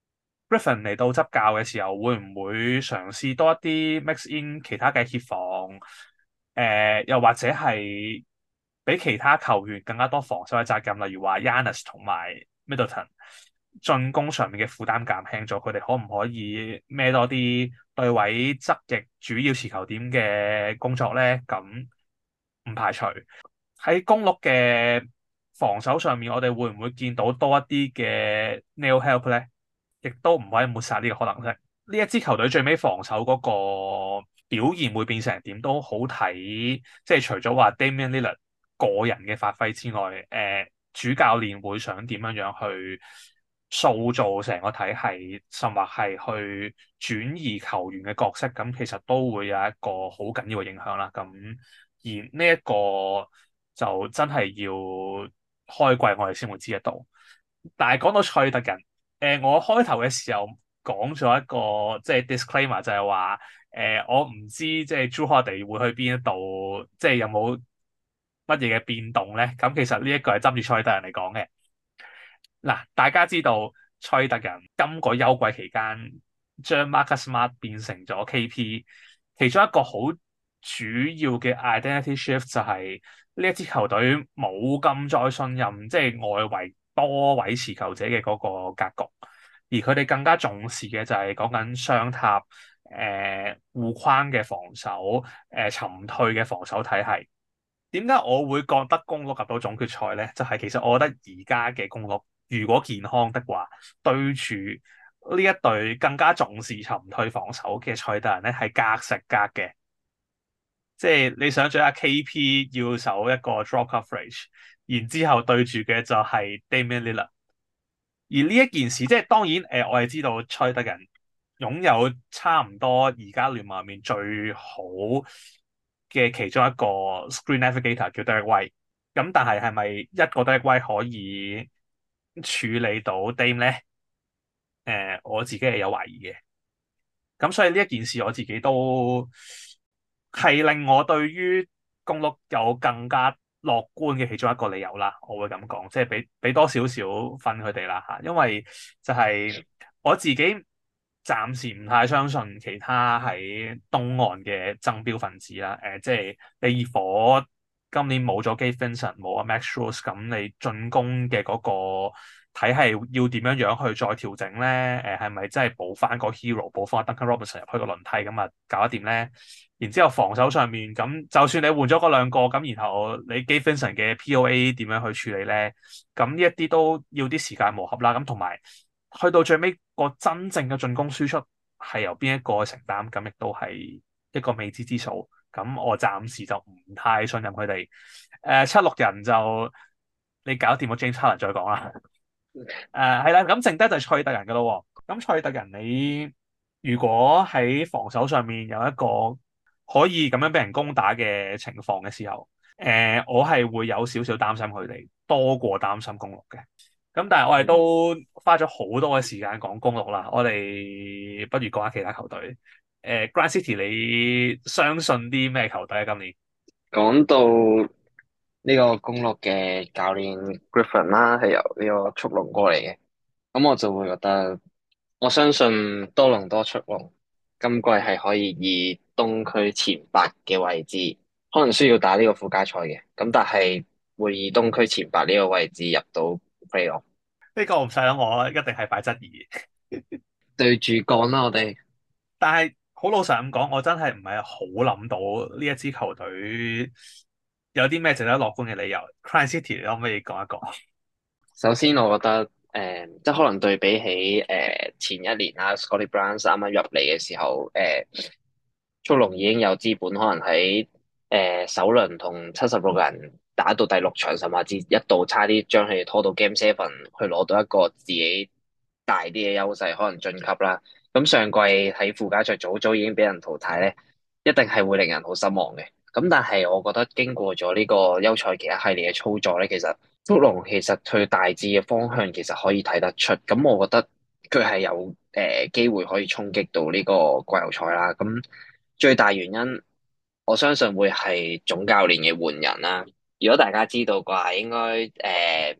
Griffin 嚟到執教嘅時候，會唔會嘗試多一啲 mix in 其他嘅協防？又或者係俾其他球員更加多防守嘅責任，例如話 Giannis 同埋 Middleton 進攻上面嘅負擔減輕咗，佢哋可唔可以孭多啲對位側翼主要持球點嘅工作咧？咁唔排除喺公鹿嘅防守上面，我哋會唔會見到多一啲嘅 nail help 咧？亦都唔可以抹殺呢個可能性。呢一支球隊最尾防守嗰個表現會變成點都好睇，即係除咗話 Damian Lillard 個人嘅發揮之外，主教練會想點樣樣去塑造成個體系，甚或係去轉移球員嘅角色，咁其實都會有一個好緊要嘅影響啦。咁而呢一個就真係要開季我哋先會知得到。但係講到賽特人。我開頭嘅時候講咗一個即係 disclaimer，就係話我唔知即係 Jrue Holiday 會去邊一度，即係有冇乜嘢嘅變動咧？咁其實呢一個係針住賽特人嚟講嘅。嗱，大家知道賽特人今個休季期間將 Marcus Smart 變成咗 KP，其中一個好主要嘅 identity shift 就係呢一支球隊冇咁再信任即係外圍多位持球者嘅嗰個格局，而佢哋更加重視嘅就係講緊雙塔、護框嘅防守、沉退嘅防守體系。點解我會覺得公鹿入到總決賽咧？就係其實我覺得而家嘅公鹿如果健康的話，對住呢一隊更加重視沉退防守嘅賽特人咧，係格食格嘅。即係你想象下 KP 要守一個 drop coverage，然之後對住嘅就係 Damian Lillard。而呢一件事，即係當然我係知道賽特人擁有差唔多而家聯盟入面最好嘅其中一個 screen navigator 叫 Derek White。咁但係係咪一個 Derek White 可以處理到 Dame 咧？我自己係有懷疑嘅。咁所以呢一件事我自己都係令我對於公鹿有更加樂觀嘅其中一個理由啦。我會咁講，即係俾多少少分佢哋啦嚇，因為就係我自己暫時唔太相信其他喺東岸嘅爭標分子啦。即係你熱火今年冇咗 Gabe Vincent 冇阿 Max Strus，咁你進攻嘅嗰個體系要點樣樣去再調整咧？係咪真係補翻個 hero，補翻 Duncan Robinson 入去個輪替咁啊，搞得掂咧？然之後防守上面咁，就算你換咗嗰兩個咁，然後你 Gabe Vincent 嘅 POA 點樣去處理咧？咁呢一啲都要啲時間磨合啦。咁同埋去到最尾個真正嘅進攻輸出係由邊一個承擔，咁亦都係一個未知之數。咁我暫時就唔太信任佢哋。七六人就你搞掂個 James Harden 再講啦。係啦，咁剩低就係賽特人噶咯。咁賽特人你如果喺防守上面有一個可以咁樣俾人攻打嘅情況嘅時候，我係會有少少擔心佢哋多過擔心公鹿嘅。咁但係我哋都花咗好多嘅時間講公鹿啦，我哋不如講下其他球隊。Grind City 你相信啲咩球隊啊？今年講到呢個公鹿嘅教練 Griffin 啦，係由呢個速龍過嚟嘅，咁我就會覺得，我相信多倫多速龍今季係可以以東區前八嘅位置，可能需要打呢個附加賽嘅，咁但係會以東區前八呢個位置入到 playoff。 呢個唔使諗，我一定係擺質疑。 對住講啦，我哋但係好老實咁講，我真係唔係好諗到呢一支球隊有啲咩值得樂觀嘅理由。Grind City 你可唔可以講一講？ 首先我覺得，即係可能對比起前一年啦，Scottie Barnes 啱啱入嚟嘅時候，速龍已經有資本，可能喺首輪同76個人打到第六場，甚至一度差啲將佢哋拖到 Game Seven 去攞到一個自己大啲嘅優勢，可能晉級啦。咁上季喺附加賽早早已經俾人淘汰咧，一定係會令人好失望嘅。咁但係我覺得經過咗呢個休賽期一系列嘅操作咧，其實速龍其實佢大致嘅方向其實可以睇得出。咁我覺得佢係有機會可以衝擊到呢個季後賽啦。咁最大原因，我相信會係總教練嘅換人啦。如果大家知道嘅話，應該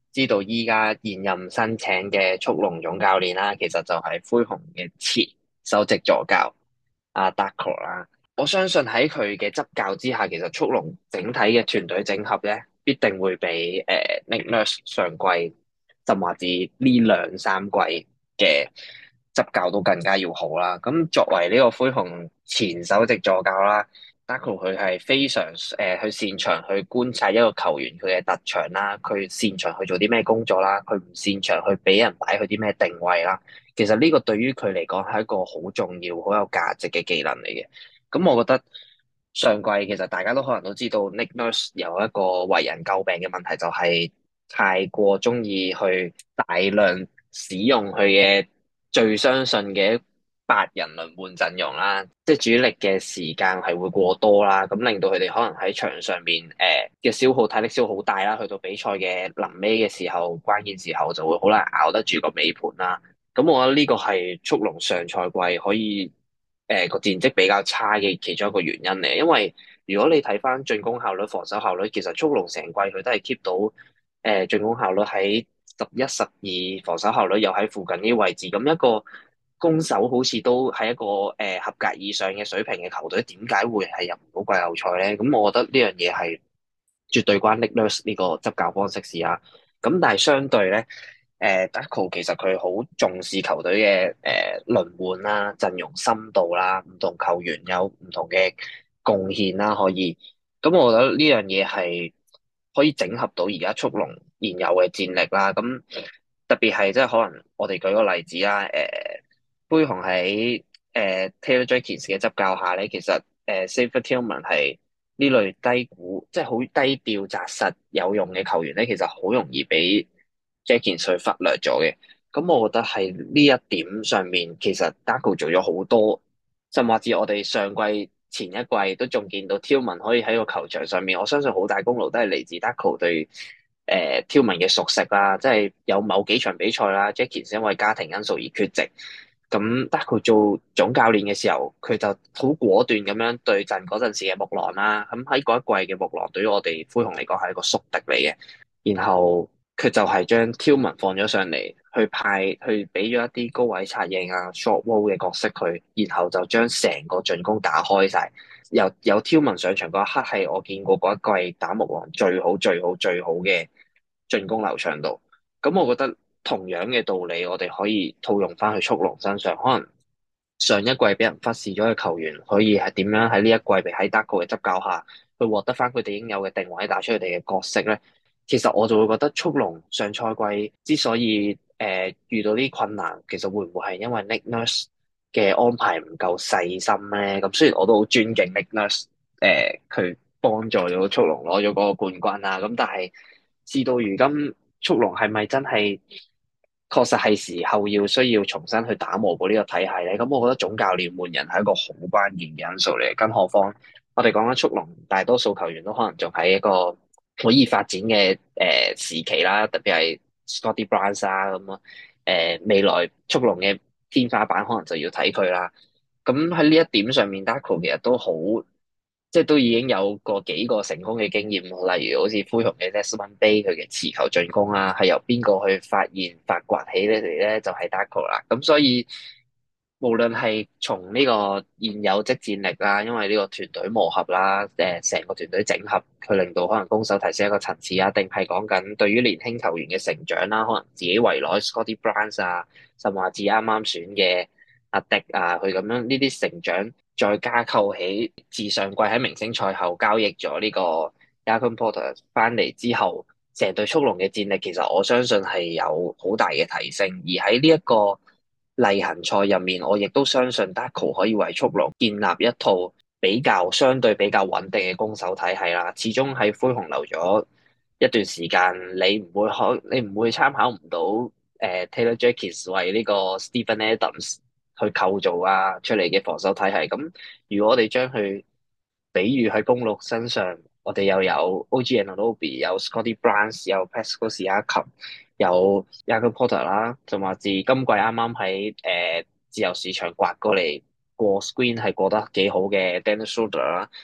知道依家現任新請嘅速龍總教練啦，其實就係灰熊嘅前首席助教阿 Darko 啦。我相信喺佢嘅執教之下，其實速龍整體嘅團隊整合咧，必定會比Nick Nurse 上季甚至呢兩三季嘅執教都更加要好啦。咁作為呢個灰熊前首席助教啦，Darko 佢係非常去擅長去觀察一個球員佢嘅特長啦，佢擅長去做啲咩工作啦，佢唔擅長去俾人擺去啲咩定位啦。其實呢個對於佢嚟講係一個好重要、好有價值嘅技能嚟嘅。咁我覺得上季其實大家都可能都知道，Nick Nurse 有一個為人詬病嘅問題，就係太過中意去大量使用佢嘅最相信嘅8人輪換陣容啦，即係主力嘅時間係會過多啦，咁令到佢哋可能喺場上面嘅消耗體力消耗好大啦，去到比賽嘅臨尾嘅時候，關鍵時候就會好難咬得住個尾盤啦。咁我覺得呢個係速龍上賽季可以個戰績比較差嘅其中一個原因嚟，因為如果你睇翻進攻效率、防守效率，其實速龍成季佢都係 keep 到進攻效率喺11、12，防守效率又喺附近呢啲位置，咁一個攻守好似都係一個合格以上嘅水平嘅球隊，點解會係入唔到季後賽咧？咁我覺得呢樣嘢係絕對關 Nick Nurse 呢個執教方式事啊。咁但係相對咧。Darko 其實佢好重視球隊嘅輪換啦、陣容深度啦、唔同球員有唔同嘅貢獻啦，可以。咁我覺得呢樣嘢係可以整合到而家速龍現有嘅戰力啦。咁特別係即係可能我哋舉個例子啦，灰熊喺Taylor Jenkins 嘅執教下咧，其實Xavier Tillman 係呢類低估，即係好低調、紮實、有用嘅球員咧，其實好容易俾 Jenkins 去忽略咗嘅。咁我覺得係呢一點上面，其實 Darko 做咗好多，甚至我哋上季前一季都仲見到 Tillman 可以喺個球場上面，我相信好大功勞都係嚟自 Darko 對Tillman 嘅熟悉啦，即係有某幾場比賽啦，Jenkins 因為家庭因素而缺席。咁 Darko 做總教練嘅時候，佢就好果斷咁樣對陣嗰陣時嘅木狼啦。咁喺嗰一季嘅木狼對於我哋灰熊嚟講係一個宿敵嚟嘅。然後佢就係將 Tillman 放咗上嚟，去俾咗一啲高位策應啊、short wall 嘅角色佢，然後就將成個進攻打開晒。有 Tillman 上場嗰一刻係我見過嗰一季打木狼最好、最好、最好嘅進攻流暢度。咁我覺得同樣嘅道理，我哋可以套用翻去速龍身上。可能上一季俾人忽視咗嘅球員，可以係點樣喺呢一季被喺 Darko 嘅執教下，去獲得翻佢哋應有嘅定位，打出佢哋嘅角色咧。其實我就會覺得速龍上賽季之所以遇到啲困難，其實會唔會係因為 Nick Nurse 嘅安排唔夠細心咧？咁雖然我都好尊敬 Nick Nurse，佢幫助咗速龍攞咗嗰個冠軍啊，咁但係事到如今，速龍係咪真係確實係時候需要重新去打磨過呢個體系咧？咁我覺得總教練換人係一個好關鍵嘅因素嚟，更何況我哋講緊速龍，大多數球員都可能仲喺一個可以發展嘅時期啦，特別係 Scotty Barnes 啊咁啊，未來速龍嘅天花板可能就要睇佢啦。咁喺呢一點上面，Darko 其實都好。即係都已經有過幾個成功嘅經驗，例如好似灰熊嘅 Desmond Bane 佢嘅持球進攻啊，係由邊個去發現發掘起呢嚟咧？就係 Darko 啦。咁所以無論係從呢個現有即戰力啦，因為呢個團隊磨合啦，成個團隊整合，佢令到可能攻守提升一個層次啊，定係講緊對於年輕球員嘅成長啦，可能自己圍內 Scotty Barnes 啊，甚至啱啱選嘅阿迪啊，佢咁樣呢啲成長。再加扣起自上季喺明星賽後交易咗呢個 Jakob Porter 翻嚟之後，成隊速龍嘅戰力其實我相信係有好大嘅提升。而喺呢一個例行賽入面，我亦都相信 Darko 可以為速龍建立一套相對比較穩定嘅攻守體系啦。始終喺灰熊留咗一段時間，你唔會參考唔到Taylor Jenkins 為呢個 Steven Adams。去構造啊出嚟嘅防守體系，咁如果我哋將佢比喻喺公鹿身上，我哋又有 OG Anunoby，有 Scotty Barnes，有 Pascal Siakam，有 Jakob Porter 啦，仲話自今季啱啱喺自由市場刮過嚟過 screen 係過得幾好嘅 Dennis Schroeder 啦，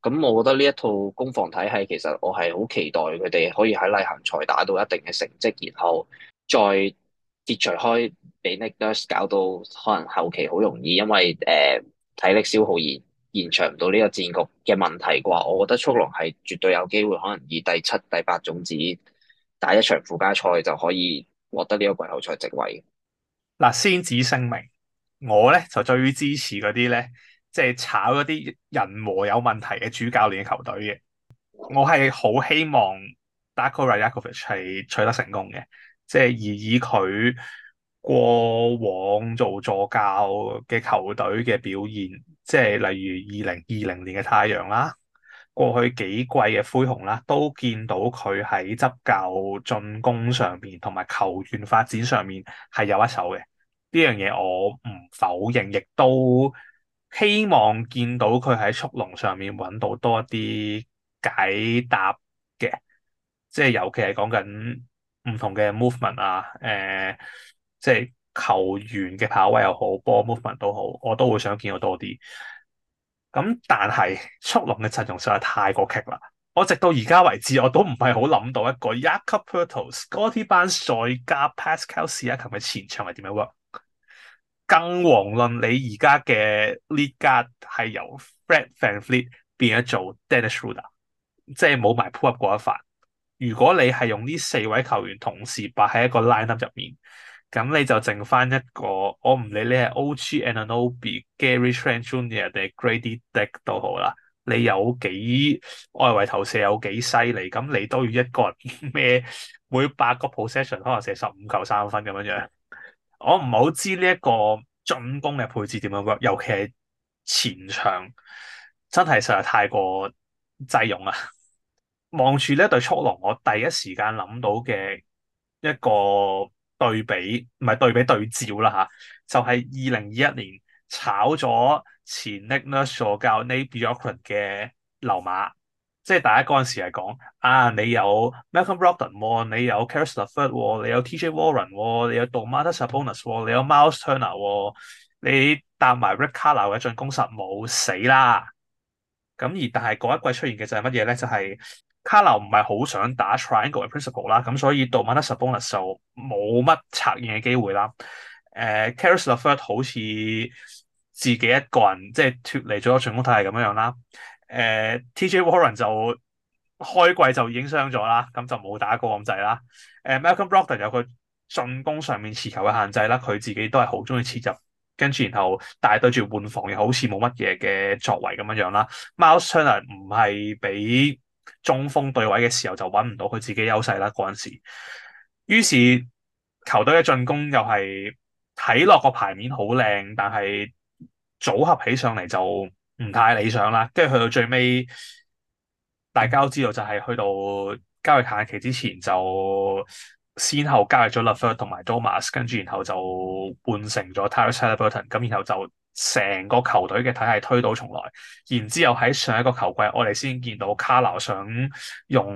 咁我覺得呢一套攻防體系其實我係好期待佢哋可以喺例行賽打到一定嘅成績，然後再撇除開俾 Nick Nurse 搞到可能後期好容易因為體力消耗而延長唔到呢個戰局嘅問題啩。我覺得速龍係絕對有機會可能以第七、第八種子打一場附加賽就可以獲得呢個季後賽席位。 嗱，先旨聲明，我咧就最支持嗰啲咧，即係炒嗰啲人和有問題嘅主教練嘅球隊嘅。我係好希望 Darko Rajakovic 係取得成功嘅，即係而以佢過往做助教嘅球隊嘅表現，即係例如2020年嘅太陽啦，過去幾季嘅灰熊啦，都見到佢喺執教進攻上面同埋球員發展上面係有一手嘅。呢樣嘢我唔否認，亦都希望見到佢喺速龍上面揾到多一啲解答嘅，即係尤其係講緊唔同嘅 movement 啊，即係球員嘅跑位又好，波 movement 都好，我都會想見到多啲。咁但係速龍嘅陣容實在太過棘啦，我直到而家為止我都唔係好諗到一個 Jakob Poeltl、Scottie Barnes 再加 Pascal Siakam 嘅前場係點樣 work。更遑論你而家嘅 lead guard 係由 Fred VanVleet 變咗做 Dennis Schroeder，即係冇埋 pull up 嗰一環。如果你係用呢四位球員同時擺喺一個 lineup 入面，咁你就剩翻一個，我唔理你係 OG Anunoby、Gary Trent Jr. 定係 Grady Dick 都好啦，你有幾外圍投射有幾犀利，咁你都要一個人孭每8個 possession 可能射15球3分咁樣樣。我唔係好知呢一個進攻嘅配置點樣 work，尤其係前場真係實在太過擠擁啦。望住呢一隊速龍，我第一時間諗到嘅一個對比，唔係對比對照啦吓，就係2021年炒咗前 Nick Nurse 助教 Nate Bjorkgren 嘅溜馬，即係大家嗰陣時係講啊，你有 Malcolm Brogdon 喎，你有 Caris LeVert 喎，你有 TJ Warren 喎，你有 Domantas Sabonis 喎，你有 Miles Turner 喎，你搭埋 Rick Carlisle 嘅進攻實冇死啦。咁而但係嗰一季出現嘅就係乜嘢咧？就係、卡流唔係好想打 triangle 嘅 principle 啦，咁所以 Domantas Sabonis 就冇乜策應嘅機會啦。Caris LeVert 好似自己一個人即係脫離咗進攻體系咁樣樣啦。TJ Warren 就開季就已經傷咗啦，咁就冇打過咁滯啦。Malcolm Brogdon 有佢進攻上面持球嘅限制啦，佢自己都係好中意切入。跟住然後，但係對住換防又好似冇乜嘢嘅作為咁樣樣啦。Miles Turner 唔係俾中鋒對位嘅時候就揾唔到佢自己優勢啦嗰陣時。於是球隊嘅進攻又係睇落個牌面好靚，但係組合起上嚟就唔太理想啦。跟住去到最尾，大家都知道就係去到交易限期之前就先後交易咗 LeVert 同埋 Domas，跟住然後就換成咗 Tyrese Haliburton，咁然後就成個球隊嘅體系推倒重來。然之後喺上一個球季，我哋先見到卡勞想用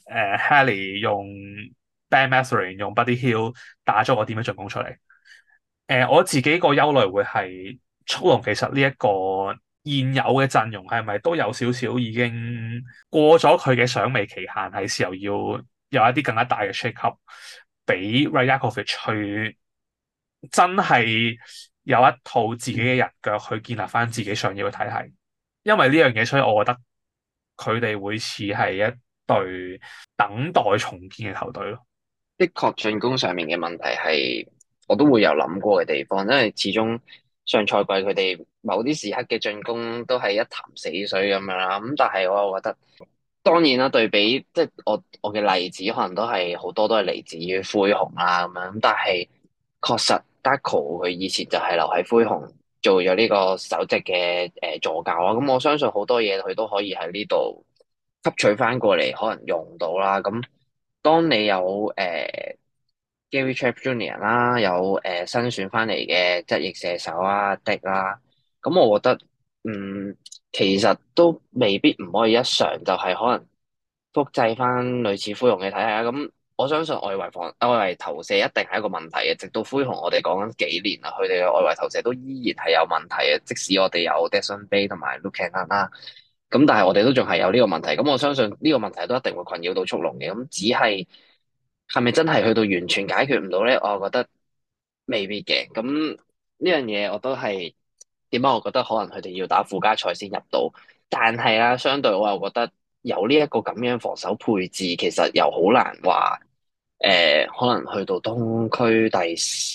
Hallie 用 Ben Mathurin 用 Buddy Hield 打咗個點樣進攻出嚟。我自己個憂慮會係速龍其實呢一個現有嘅陣容係咪都有少少已經過咗佢嘅賞味期限，係時候要有一啲更加大嘅 shake up，俾 Rajakovic 去真係有一套自己嘅人腳去建立翻自己想要嘅體系。因為呢樣嘢，所以我覺得佢哋會似係一隊等待重建嘅球隊咯。 的確進攻上面嘅問題係我都會有諗過嘅地方，因為始終上賽季佢哋某啲時刻嘅進攻都係一潭死水咁樣啦。咁但係我又覺得，當然啦，對比即係我嘅例子，可能都係好多都係嚟自於灰熊啦咁樣。咁但係確實 Darko 佢以前就係留喺灰熊做咗呢個首席嘅助教啦。咁我相信好多嘢佢都可以喺呢度吸取翻過嚟，可能用到啦。咁當你有Gary Trent Jr. 啦，有新選翻嚟嘅側翼射手啊 Dick 啦，咁我覺得其實都未必唔可以一嘗，就係可能複製翻類似灰熊嘅體系啊。咁我相信外圍投射一定係一個問題嘅，直到灰熊我哋講緊幾年啦，佢哋嘅外圍投射都依然係有問題嘅，即使我哋有 Desmond Bane 同埋 Luke Kennard 啦。 咁但係我哋都仲係有呢個問題，咁我相信呢個問題都一定會困擾到速龍嘅，咁只係咪真係去到完全解決唔到咧？我覺得未必嘅。咁呢樣嘢我都係點解？我覺得可能佢哋要打附加賽先入到，但係啦，相對我又覺得有呢一個咁樣防守配置，其實又好難話可能去到東區第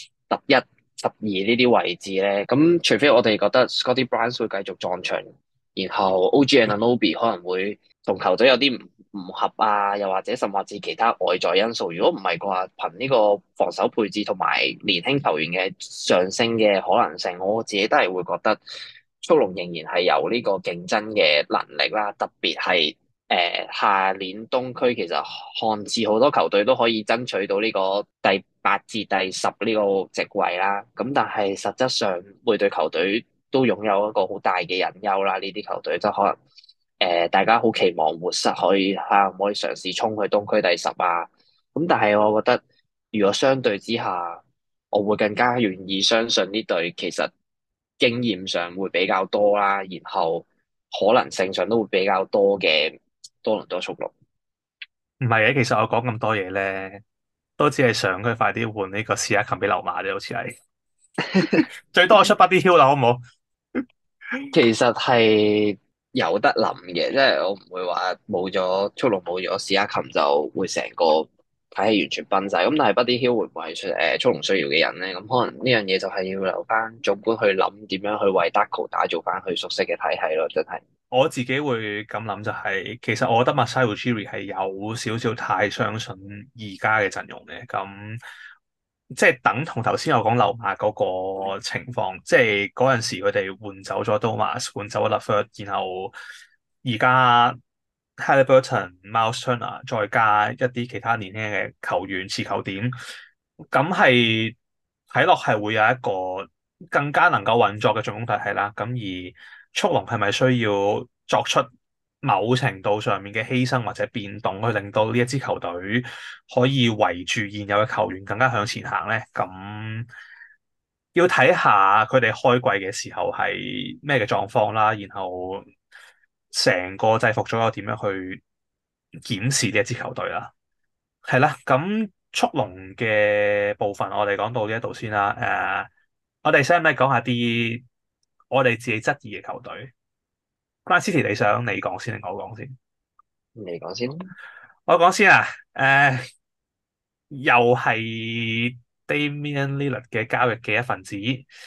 11、12呢啲位置咧。咁除非我哋覺得 Scotty Barnes 會繼續撞牆，然後 OG Anunoby 可能會同球隊有啲唔合啊，又或者甚至其他外在因素。如果唔係嘅話，憑呢個防守配置同埋年輕球員嘅上升嘅可能性，我自己都係會覺得速龍仍然係有呢個競爭嘅能力啦。特別係下年東區，其實看似好多球隊都可以爭取到呢個第8至第10呢個席位啦。咁但係實質上每隊球隊都擁有一個好大嘅隱憂啦。呢啲球隊即係可能。大家好期望活塞可以可唔可以嘗試衝去東區第10啊？咁但係我覺得，如果相對之下，我會更加願意相信呢隊其實經驗上會比較多啦，然後可能性上都會比較多嘅多倫多速龍。 唔係嘅，其實我講咁多嘢咧，都只係想佢快啲換呢個史亞琴俾溜馬啫，好似係最多我出 Buddy Hield 啦，好唔好？ 其實係有得諗嘅，即係我唔會話冇咗速龍冇咗史亞琴就會成個體系完全崩晒。咁但係 Buddy Hield 會唔會係速龍需要嘅人咧？咁可能呢樣嘢就係要留翻總管去諗點樣去為 Darko 打造翻佢熟悉嘅體系咯，真係。 我自己會咁諗就係，其實我覺得 Masai Ujiri 係有少少太相信而家嘅陣容嘅，咁即係等同頭先我講溜馬嗰個情況，即係嗰陣時佢哋換走咗 Domas，換走咗 Lafleur，然後而家 Haliburton、Miles Turner 再加一啲其他年輕嘅球員持球點，咁係睇落係會有一個更加能夠運作嘅進攻體系啦。咁而速龍係咪需要作出某程度上面嘅犧牲或者變動，去令到呢一支球隊可以圍住現有嘅球員更加向前行咧？咁要睇下佢哋開季嘅時候係咩嘅狀況啦，然後成個制服組又點樣去檢視呢一支球隊啦。係啦，咁速龍嘅部分我哋講到呢一度先啦。我哋使唔使講下啲我哋自己質疑嘅球隊？Grind City 你想你講先定我講先？ 你講先。 我講先啊。又係 Damian Lillard 嘅交易嘅一份子。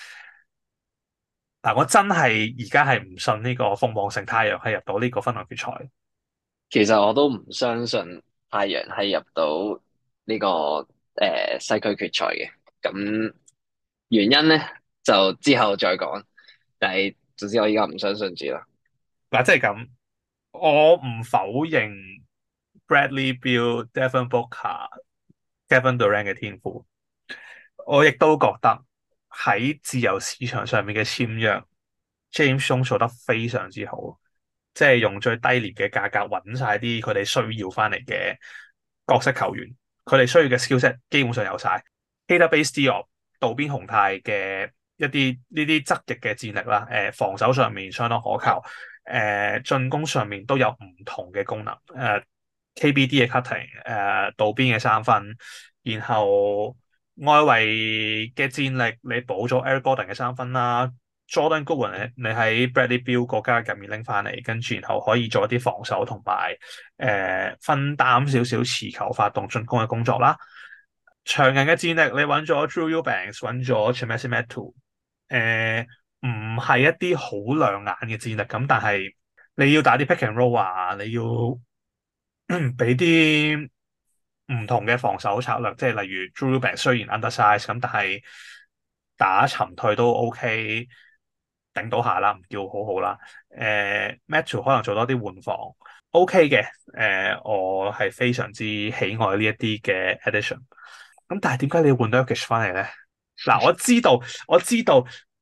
嗱，我真係而家係唔信呢個鳳凰城太陽係入到呢個分區決賽。 其實我都唔相信太陽係入到呢個西區決賽嘅。咁原因咧就之後再講，但係總之我依家唔相信住啦。 嗱，即係咁，我唔否認 Bradley Beal、Devin Booker、Kevin Durant 嘅天賦，我亦都覺得喺自由市場上面嘅簽約，James Jones 做得非常之好，即係用最低廉嘅價格揾晒啲佢哋需要翻嚟嘅角色球員，佢哋需要嘅 skillset 基本上有晒。Database Diop 渡邊雄太嘅一啲呢啲側翼嘅戰力啦，防守上面相當可靠，進攻上面都有唔同嘅功能，KBD 嘅 cutting，渡邊嘅三分，然後外圍嘅戰力你補咗 Eric Gordon 嘅三分啦，Jordan Goodwin 你喺 Bradley Beal 國家入面拎翻嚟，跟住然後可以做一啲防守同埋分擔少少持球發動進攻嘅工作啦。長人嘅戰力，你揾咗 Drew Eubanks，揾咗 Chimezie Metu，唔係一啲好亮眼嘅戰力，咁但係你要打啲 pick and roll 啊，你要俾啲唔同嘅防守策略，即係例如 Drew Eubanks 雖然 undersize 咁，但係打沉退都 OK，頂到下啦，唔叫好好啦。Metu 可能做多啲換防 OK 嘅，我係非常之喜愛呢一啲嘅 addition。咁但係點解你要換 Nurkic 翻嚟咧？嗱，我知道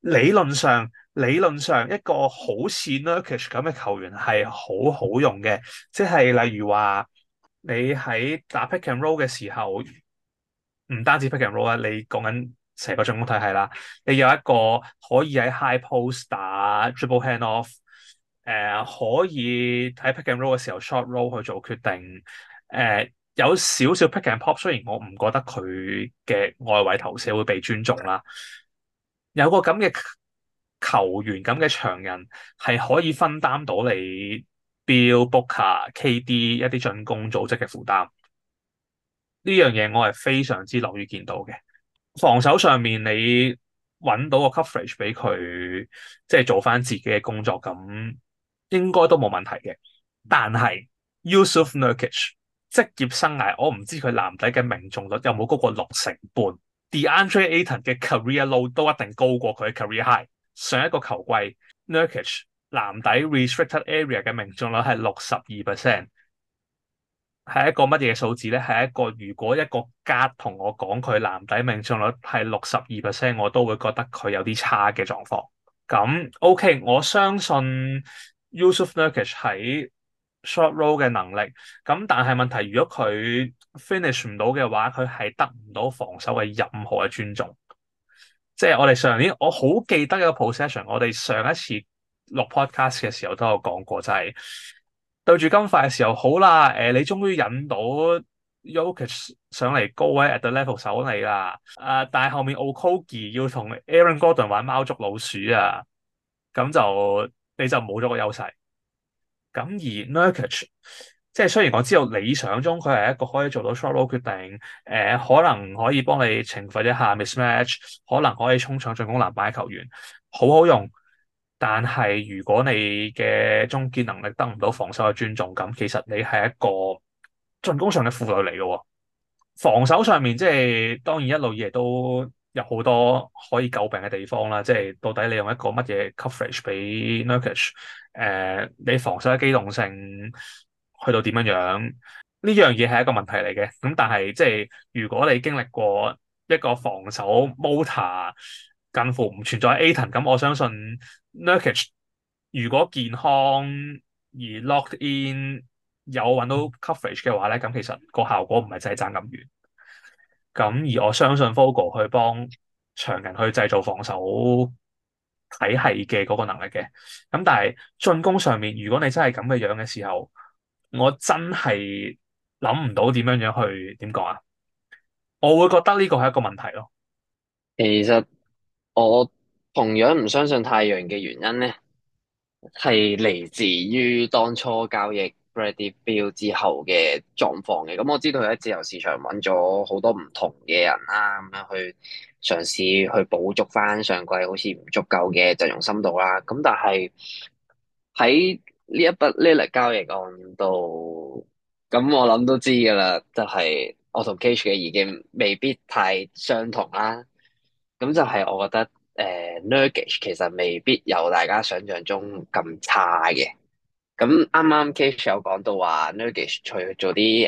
理論上一個好似 Nurkic 咁嘅球員係好好用嘅，即係例如話你喺打 pick and roll 嘅時候，唔單止 pick and roll 啦，你講緊成個進攻體系啦，你有一個可以喺 high post 打 dribble hand off， 可以喺 pick and roll 嘅時候 short roll 去做決定。有少少 pick and pop，雖然我唔覺得佢嘅外圍投射會被尊重啦。有個咁嘅球員咁嘅長人係可以分擔到你 Bill Booker、KD 一啲進攻組織嘅負擔。呢樣嘢我係非常之樂於見到嘅。防守上面你揾到個 coverage 俾佢，即係做翻自己嘅工作，咁應該都冇問題嘅。但係 Jusuf Nurkic 職業生涯，我唔知佢籃底嘅命中率有冇高過6成半。DeAndre Ayton 嘅 career low 都一定高過佢嘅 career high。上一個球季 Nurkic 籃底 restricted area 嘅命中率係62%。係一個乜嘢數字咧？係一個如果一個 guard 同我講佢籃底命中率係62%，我都會覺得佢有啲差嘅狀況。咁 OK，我相信 Jusuf Nurkic 喺 short roll 嘅能力。咁但係問題，如果佢 finish 唔到嘅話，佢係得唔到防守嘅任何嘅尊重。即係我哋上年，我好記得一個 possession，我哋上一次錄 podcast 嘅時候都有講過，就係對住金塊嘅時候，好啦，你終於引到 Jokic 上嚟高位 at the level 守你啦，但係後面 Okogie 要同 Aaron Gordon 玩貓捉老鼠啊，咁就你就冇咗個優勢。咁而 Nurkic 即係雖然我知道理想中佢係一個可以做到 short roll 決定，可能可以幫你懲罰一下 mismatch，可能可以衝搶進攻籃板嘅球員，好好用。但係如果你嘅終結能力得唔到防守嘅尊重，咁其實你係一個進攻上嘅負累嚟嘅喎。防守上面即係當然一路以嚟都有好多可以詬病嘅地方啦，即係到底你用一個乜嘢 coverage 俾 Nurkic，你防守嘅機動性去到點樣樣？呢樣嘢係一個問題嚟嘅。咁但係即係如果你經歷過一個防守 motor 近乎唔存在 Ayton，咁我相信 Nurkic 如果健康而 locked in 有揾到 coverage 嘅話咧，咁其實個效果唔係真係爭咁遠。咁而我相信 Vogel 去幫長人去製造防守體系嘅嗰個能力嘅。咁但係進攻上面，如果你真係咁嘅樣嘅時候，我真係諗唔到點樣樣去點講啊？我會覺得呢個係一個問題咯。 其實我同樣唔相信太陽嘅原因咧，係嚟自於當初交易 Bradley Beal 之後嘅狀況嘅。咁我知道佢喺自由市場揾咗好多唔同嘅人啦，咁樣去嘗試去補足翻上季好似唔足夠嘅陣容深度啦。咁但係喺呢一筆 Lillard 交易案度，咁我諗都知噶啦，就係我同 Cage 嘅意見未必太相同啦。咁就係我覺得Nurkic 其實未必有大家想象中咁差嘅。咁啱啱 Cage 有講到話 Nurkic 除咗做啲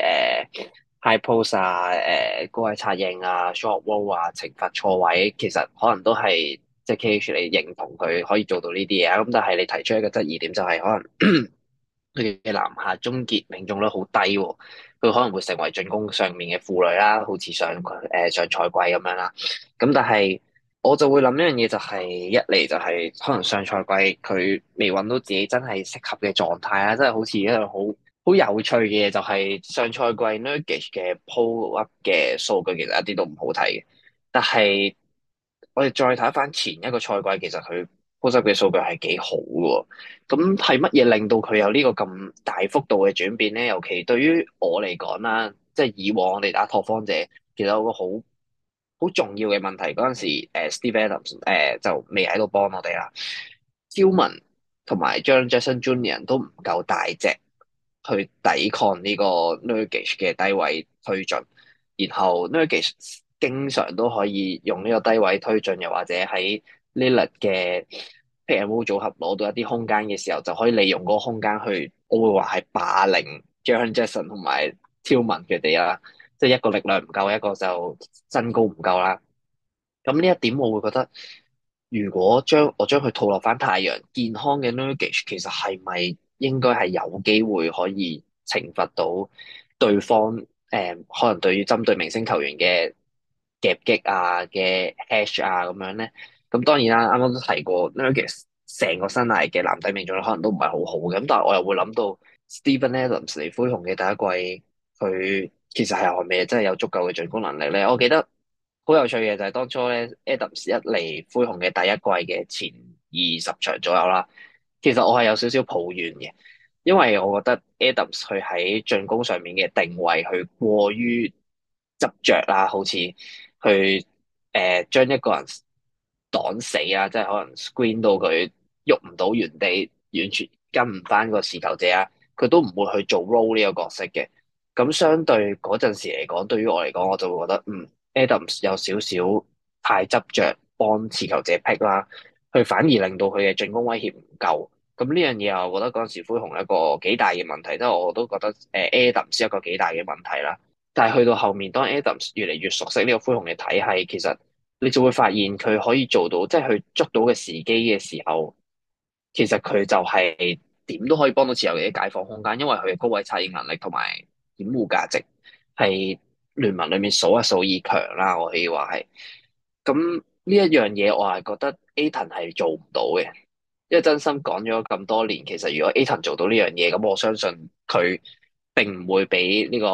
high post 啊、高位策應啊、short roll 啊、懲罰錯位，其實可能都係即係 Cage 你認同佢可以做到呢啲嘢啊。咁但係你提出一個質疑點就係可能佢嘅籃下終結命中率好低喎，佢可能會成為進攻上面嘅負累啦，好似上賽季咁樣啦。咁但係我就會諗一樣嘢，就係一嚟就係可能上賽季佢未揾到自己真係適合嘅狀態啦，真係好似一樣好有趣嘅嘢，就係上賽季 Nurkic 嘅 pull up 嘅數據其實一啲都唔好睇嘅，但係我哋再睇翻前一個賽季，其實佢 pull up 嘅數據係幾好嘅。咁係乜嘢令到佢有呢個咁大幅度嘅轉變咧？尤其對於我嚟講啦，即係以往我哋打拓荒者，其實有個好重要嘅問題，嗰陣時Steve Adams 就未喺度幫我哋啦。Tillman 同埋 Jaren Jackson Jr. 都唔夠大隻去抵抗呢個 Nurkic 嘅低位推進，然後 Nurkic 經常都可以用呢個低位推進，又或者喺 Lillard 嘅 pick and roll 組合攞到一啲空間嘅時候，就可以利用嗰個空間去，我會話係霸凌 Jaren Jackson 同埋 Tillman 佢哋啦。即係一個力量唔夠，一個就身高唔夠啦。咁呢一點我會覺得，如果我將佢套落翻太陽健康嘅 Nurkic，其實係咪應該係有機會可以懲罰到對方？可能對於針對明星球員嘅夾擊啊、嘅 hash 啊咁樣咧。咁當然啦，啱啱都提過 Nurkic 成個生涯嘅籃底命中率可能都唔係好好嘅。咁但係我又會諗到 Steven Adams 嚟灰熊嘅第一季，佢其實係咪真係有足夠嘅進攻能力咧？我記得好有趣嘅就係當初咧 Adams 一嚟灰熊嘅第一季嘅前20場左右啦，其實我係有少少抱怨嘅，因為我覺得 Adams 佢喺進攻上面嘅定位，佢過於執着啦，好似去將一個人擋死啊，即係可能 screen 到佢喐唔到原地，完全跟唔翻個持球者啊，佢都唔會去做 role 呢個角色嘅。咁相對嗰陣時嚟講，對於我嚟講，我就會覺得Adams 有少少太執着幫持球者 pick 啦，佢反而令到佢嘅進攻威脅唔夠。咁呢樣嘢啊，我覺得嗰陣時灰熊一個幾大嘅問題，即係我都覺得Adams 一個幾大嘅問題啦。但係去到後面，當 Adams 越嚟越熟悉呢個灰熊嘅體系，其實你就會發現佢可以做到，即係佢捉到嘅時機嘅時候，其實佢就係點都可以幫到持有者解放空間，因為佢嘅高位策應能力同埋掩護價值係聯盟裏面數一數二強啦，我可以話係。咁呢一樣嘢，我係覺得 Ayton 係做唔到嘅。因為真心講咗咁多年，其實如果 Ayton 做到呢樣嘢，咁我相信佢並唔會俾呢個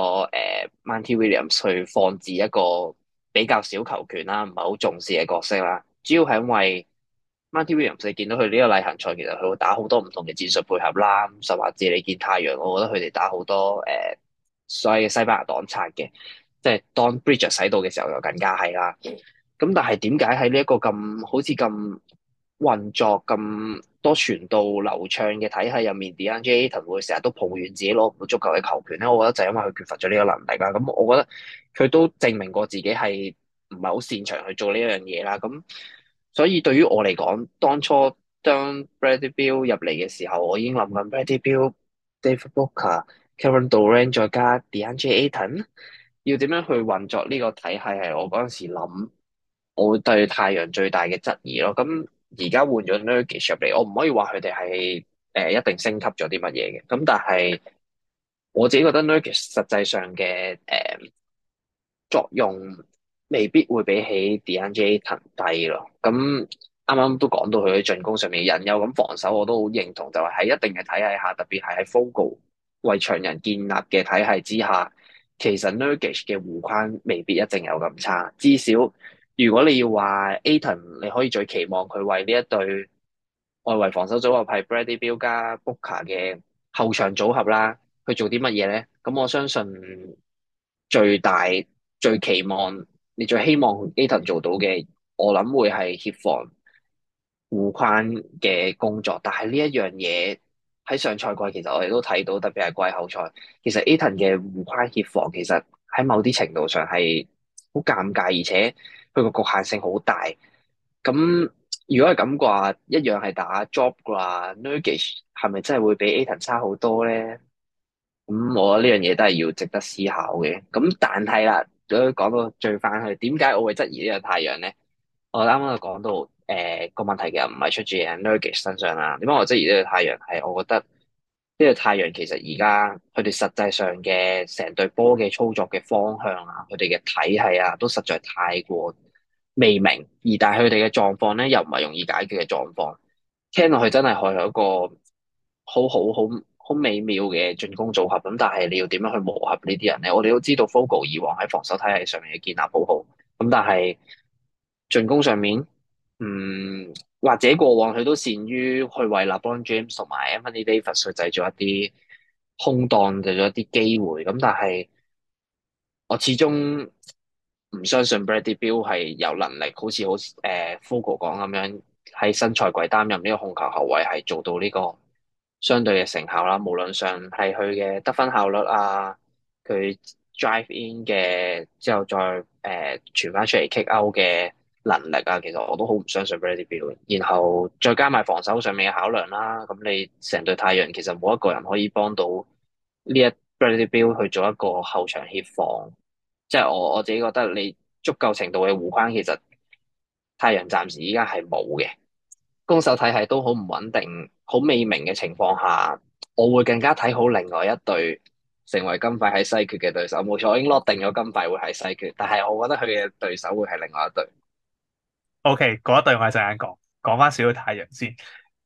Monty Williams 去放置一個比較小球權啦，唔係好重視嘅角色啦。主要係因為 Monty Williams 你見到佢呢個例行賽，其實佢會打好多唔同嘅戰術配合啦，甚至你見太陽，我覺得佢哋打好多所謂嘅西班牙擋拆嘅，即係當 Bridges 使到嘅時候，就更加係啦。咁但係點解喺呢一個咁好似咁運作咁多傳導流暢嘅體系入面，DeAndre Ayton 會成日都抱怨自己攞唔到足夠嘅球權咧？我覺得就係因為佢缺乏咗呢個能力啦。咁我覺得佢都證明過自己係唔係好擅長去做呢樣嘢啦。咁所以對於我嚟講，當初當 Bradley Beal 入嚟嘅時候，我已經諗緊 Bradley Beal、David Booker、Kevin Durant 再加 DeAndre Ayton 要點樣去運作呢個體系，係我嗰陣時諗。我會對太陽最大嘅質疑咯。咁而家換咗 Nurkic 入嚟，我唔可以話佢哋係一定升級咗啲乜嘢嘅。咁但係我自己覺得 Nurkic 實際上嘅作用未必會比起 DeAndre Ayton 低咯。咁啱啱都講到佢喺進攻上面嘅隱憂，咁防守我都好認同，就係喺一定嘅體系下，特別係喺 Vogel 為長人建立嘅體系之下，其實 Nurkic 嘅護框未必一定有咁差。至少如果你要話 Ayton，你可以最期望佢為呢一隊外圍防守組合係 Bradley Beal 加 Booker 嘅後場組合啦，去做啲乜嘢咧？咁我相信最大最期望你最希望 Ayton 做到嘅，我諗會係協防護框嘅工作。但係呢一樣嘢喺上賽季其實我哋都睇到，特別係季後賽，其實 Ayton 嘅護框協防其實喺某啲程度上係好尷尬，而且佢個局限性好大。咁如果係咁嘅話，一樣係打 job 嘅話，Nurkic 係咪真係會比 Ayton 差好多咧？咁我覺得呢樣嘢都係要值得思考嘅。咁但係啦，都講到最翻去，點解我會質疑呢個太陽咧？我啱啱就講到，個問題其實唔係出自喺 Nurkic 身上啦。點解我質疑呢個太陽係？我覺得呢個太陽其實而家佢哋實際上嘅成隊波嘅操作嘅方向啊，佢哋嘅體系啊，都實在太過未明。而但係佢哋嘅狀況咧，又唔係容易解決嘅狀況。聽落去真係係一個好美妙嘅進攻組合。咁但係你要點樣去磨合呢啲人咧？我哋都知道 Vogel 以往喺防守體系上面嘅建立好好。咁但係進攻上面，或者過往佢都擅於去為 LeBron James 同埋 Anthony Davis 去製造一啲空檔，製造一啲機會。咁但係我始終唔相信 Bradley Beal 係有能力，好似Vogel 講咁樣喺新賽季擔任呢個控球後衛，係做到呢個相對嘅成效啦。無論上係佢嘅得分效率啊，佢 drive in 嘅之後再傳翻出嚟 kick out 嘅能力啊，其實我都好唔相信 Bradley Beal。然後再加埋防守上面嘅考量啦，咁你成隊太陽其實冇一個人可以幫到呢一 Bradley Beal 去做一個後場協防。即係我自己覺得你足夠程度嘅護框，其實太陽暫時依家係冇嘅。攻守體系都好唔穩定、好未明嘅情況下，我會更加睇好另外一隊成為金塊喺西決嘅對手。冇錯，我已經落定咗金塊會喺西決，但係我覺得佢嘅對手會係另外一隊。 OK，嗰一隊我係陣間講，講翻少少太陽先。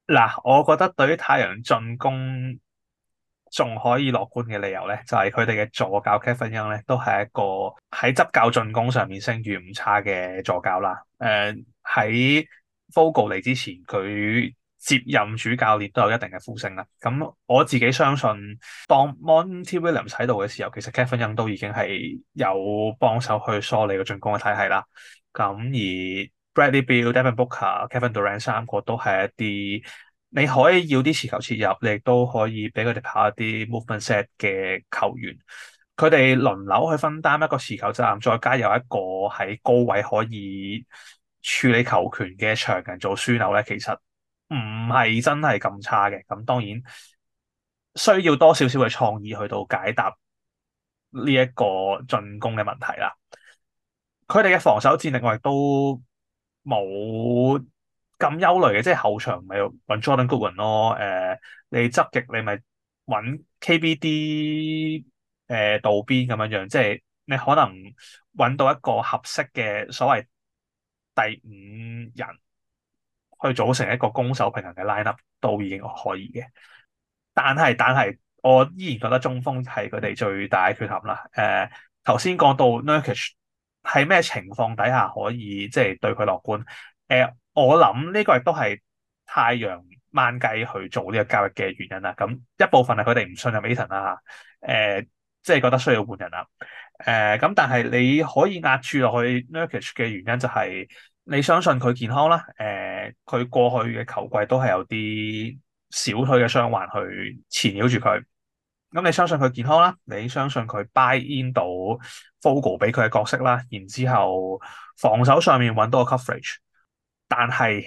嗱，我覺得對於太陽進攻仲可以樂觀嘅理由咧，就係佢哋嘅助教 Kevin Young 咧，都係一個喺執教進攻上面聲譽唔差嘅助教啦。喺 Vogel 嚟之前，佢接任主教練都有一定嘅呼聲啦。咁我自己相信，當 Monty Williams 喺度嘅時候，其實 Kevin Young 都已經係有幫手去梳理個進攻嘅體系啦。咁而 Bradley Beal、Devin Booker、Kevin Durant 三個都係一啲你可以要啲持球切入，你亦都可以俾佢哋跑一啲 movement set 嘅球員。佢哋輪流去分擔一個持球責任，再加有一個喺高位可以處理球權嘅長人做樞紐咧，其實唔係真係咁差嘅。咁當然需要多少少嘅創意去到解答呢一個進攻嘅問題啦。佢哋嘅防守戰力我亦都冇咁憂慮嘅，即係後場咪揾 Jordan Goodwin 咯。你側翼你咪揾 KBD 道邊咁樣樣，即係你可能揾到一個合適嘅所謂第五人去組成一個攻守平衡嘅 lineup 都已經可以嘅。但係，我依然覺得中鋒係佢哋最大嘅缺陷啦。頭先講到 Nurkic 喺咩情況底下可以即係對佢樂觀？我諗呢個亦都係太陽掹雞去做呢個交易嘅原因啦。咁一部分係佢哋唔信任 Ayton 啦，即係覺得需要換人啦。咁但係你可以壓住落去 Nurkic 嘅原因就係你相信佢健康啦。佢過去嘅球季都係有啲小腿嘅傷患去纏繞住佢。咁你相信佢健康啦，你相信佢 buy in 到 Vogel 俾佢嘅角色啦，然之後防守上面揾到個 coverage，但係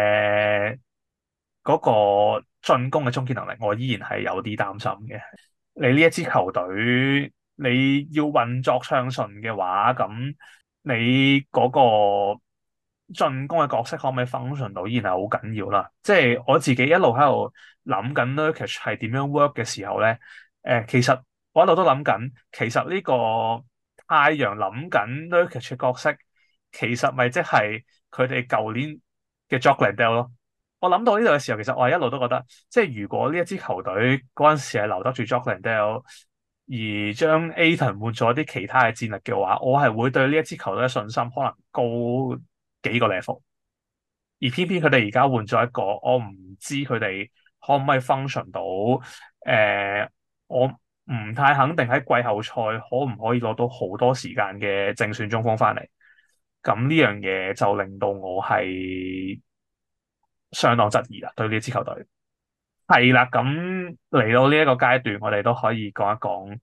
嗰個進攻嘅終結能力，我依然係有啲擔心嘅。你呢一支球隊，你要運作暢順嘅話，咁你嗰個進攻嘅角色可唔可以 function 到，依然係好緊要啦。即係我自己一路喺度諗緊 Nurkic 係點樣 work 嘅時候咧，其實我一路都諗緊，其實呢個太陽諗緊 Nurkic 嘅角色，其實咪即係佢哋舊年嘅 Jock Landale 咯。我諗到呢度嘅時候，其實我係一路都覺得，即係如果呢一支球隊嗰陣時係留得住 Jock Landale，而將 Ayton 換咗啲其他嘅戰力嘅話，我係會對呢一支球隊嘅信心可能高幾個 level。而偏偏佢哋而家換咗一個，我唔知佢哋可唔可以 function 到。我唔太肯定喺季後賽可唔可以攞到好多時間嘅正選中鋒翻嚟。咁呢樣嘢就令到我係相當質疑啦，對呢支球隊。係啦，咁嚟到呢一個階段，我哋都可以講一講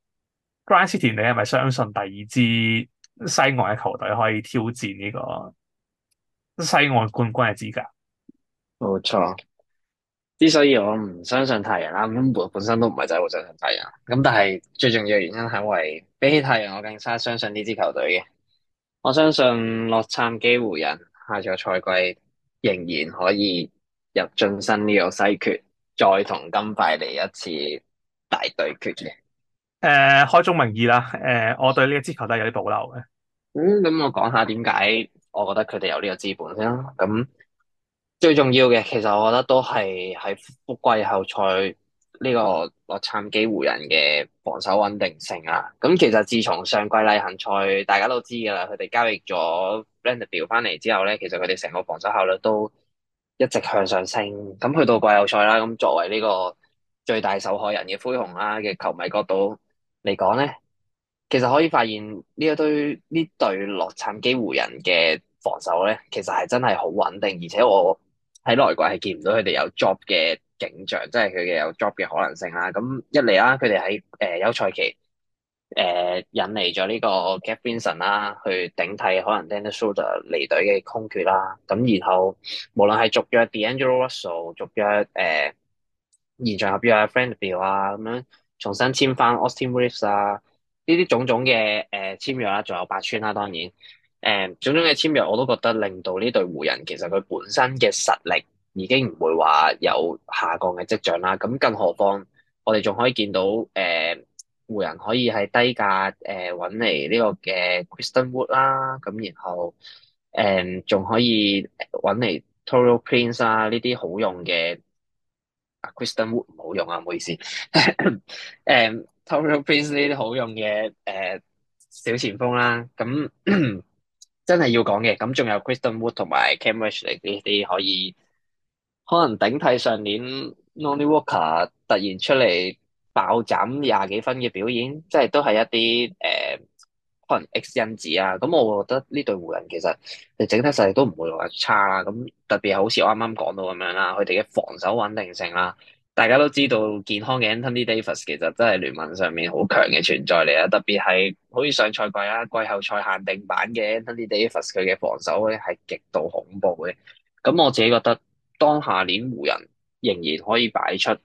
Grind City，你係咪相信第二支西岸嘅球隊可以挑戰呢個西岸冠軍嘅資格？ 冇錯。之所以我唔相信太陽啦，咁本身都唔係真係好相信太陽。咁但係最重要嘅原因係因為比起太陽，我更加相信呢支球隊嘅。我相信洛杉磯湖人下個賽季仍然可以入晉身呢個西決，再同金塊嚟一次大對決嘅。 開宗明義啦，我對呢一支球隊有啲保留嘅。 咁我講下點解我覺得佢哋有呢個資本先啦。咁最重要嘅，其實我覺得都係喺季後賽呢個洛杉磯湖人嘅防守穩定性啊。咁其實自從上季例行賽大家都知㗎啦，佢哋交易咗 Vanderbilt 翻嚟之後咧，其實佢哋成個防守效率都一直向上升。咁去到季後賽啦，咁作為呢個最大受害人嘅灰熊啦嘅球迷角度嚟講咧。其實可以發現呢隊洛杉磯湖人嘅防守咧，其實係真係好穩定，而且我喺來季係見唔到佢哋有 drop 嘅景象，即係佢哋有 drop 嘅可能性啦。咁一嚟啦，佢哋喺休賽期引嚟咗呢個 Gabe Vincent 啦，去頂替可能 Dennis Schroeder 離隊嘅空缺啦。咁然後無論係續約 D'Angelo Russell，續約延長合約啊 Vanderbilt 啊，咁樣重新簽翻 Austin Reeves 啊。呢啲種種嘅簽約啦，仲有八村啦，當然種種嘅簽約我都覺得令到呢隊湖人其實佢本身嘅實力已經唔會話有下降嘅跡象啦。咁更何況我哋仲可以見到湖人可以喺低價揾嚟呢個嘅 Christian Wood 啦，咁然後仲可以揾嚟 Taurean Prince 啊呢啲好用嘅。Kristen Wood 唔好用啊，唔好意思。Taurean Prince 呢啲好用嘅小前鋒啦，咁真係要講嘅。咁仲有 Kristen Wood 同埋 Cam Reddish 呢啲可能頂替上年 Lonnie Walker 突然出嚟爆斬20幾分嘅表演，即係都係一啲可能 X 因子啊。咁我覺得呢隊湖人其實你整體實力都唔會話差啦。咁特別係好似我啱啱講到咁樣啦，佢哋嘅防守穩定性啦，大家都知道健康嘅 Anthony Davis 其實真係聯盟上面好強嘅存在嚟啊。特別係好似上賽季啦，季後賽限定版嘅 Anthony Davis 佢嘅防守咧係極度恐怖嘅。咁我自己覺得，當下年湖人仍然可以擺出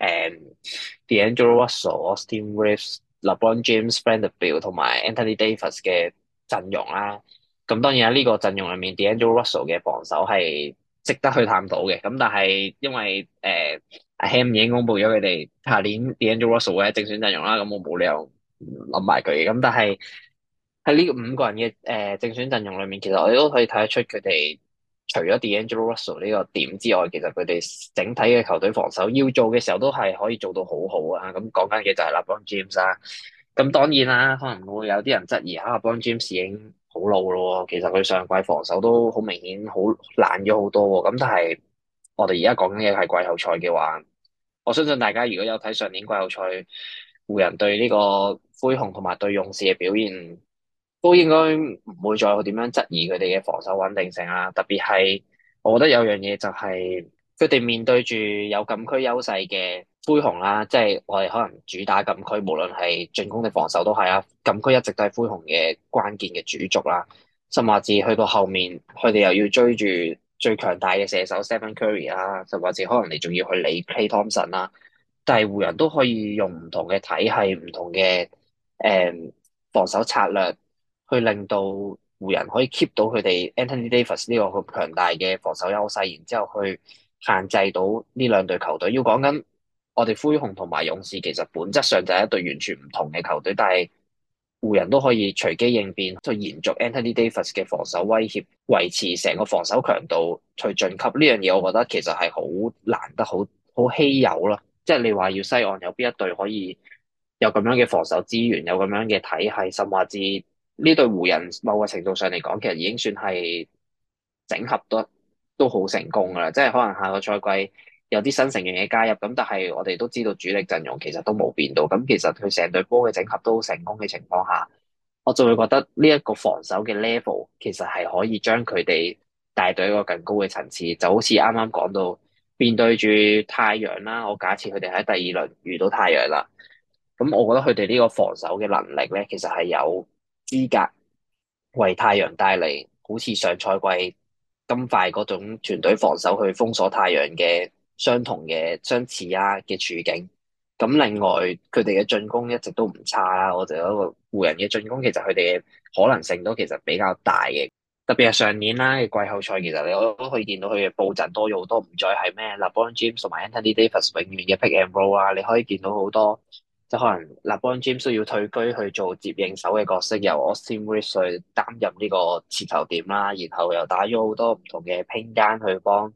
D'Angelo Russell、Austin Reeves、LeBron James、Vanderbilt 同埋 Anthony Davis 嘅陣容啦。咁當然喺呢個陣容入面，D'Angelo Russell 嘅防守係值得去探討嘅。咁但係因為阿 Ham 已經公布咗佢哋下年 D'Angelo Russell 嘅正選陣容啦，咁我冇理由諗埋佢嘅。咁但係喺呢五個人嘅正選陣容裏面，其實我哋都可以睇得出佢哋除咗 D'Angelo Russell 呢個點之外，其實佢哋整體嘅球隊防守要做嘅時候都係可以做到好好啊。咁講緊嘅就係 LeBron James 啦。咁當然啦，可能會有啲人質疑啊，LeBron James 已經好老咯，其實佢上季防守都好明顯好爛咗好多喎。咁但係我哋而家講緊嘅係季後賽嘅話，我相信大家如果有睇上年季後賽湖人對呢個灰熊同埋對勇士嘅表現，都應該唔會再點樣質疑佢哋嘅防守穩定性啦。特別係我覺得有樣嘢就係佢哋面對住有禁區優勢嘅灰熊啦，即係我哋可能主打禁區，無論係進攻定防守都係啦。禁區一直都係灰熊嘅關鍵嘅主軸啦。甚至去到後面，佢哋又要追住最強大嘅射手 Stephen Curry 啦，甚至可能你仲要去理 Klay Thompson 啦。但係湖人都可以用唔同嘅體系、唔同嘅防守策略，去令到湖人可以 keep 到佢哋 Anthony Davis 呢個咁強大嘅防守優勢，然之後去限制到呢兩隊球隊。要講緊我哋灰熊同埋勇士，其實本質上就係一隊完全唔同嘅球隊，但係湖人都可以隨機應變，去延續 Anthony Davis 嘅防守威脅，維持成個防守強度去晉級。呢樣嘢我覺得其實係好難得、好稀有咯。即係你話要西岸有邊一隊可以有咁樣嘅防守資源，有咁樣嘅體系，甚至呢隊湖人某個程度上嚟講，其實已經算係整合都好成功噶啦。即係可能下個賽季有啲新成員嘅加入，咁但係我哋都知道主力陣容其實都冇變到。咁其實佢成隊波嘅整合都成功嘅情況下，我就會覺得呢一個防守嘅 level 其實係可以將佢哋帶到一個更高嘅層次。就好似啱啱講到面對住太陽啦，我假設佢哋喺第二輪遇到太陽啦。咁我覺得佢哋呢個防守嘅能力咧，其實係有資格為太陽帶嚟好似上賽季金塊嗰種團隊防守去封鎖太陽嘅相同嘅相似啊嘅處境。咁另外佢哋嘅進攻一直都唔差啦，我就覺得個湖人嘅進攻其實佢哋嘅可能性都其實比較大嘅。特別係上年啦嘅季後賽，其實你都可以見到佢嘅佈陣多咗好多，唔再係咩 LeBron James 同埋 Anthony Davis 永遠嘅 pick and roll 啊，你可以見到好多。即係可能 LeBron James 需要退居去做接應手嘅角色，由 Austin Reeves 去擔任呢個持球點啦，然後又打咗好多唔同嘅拼間去幫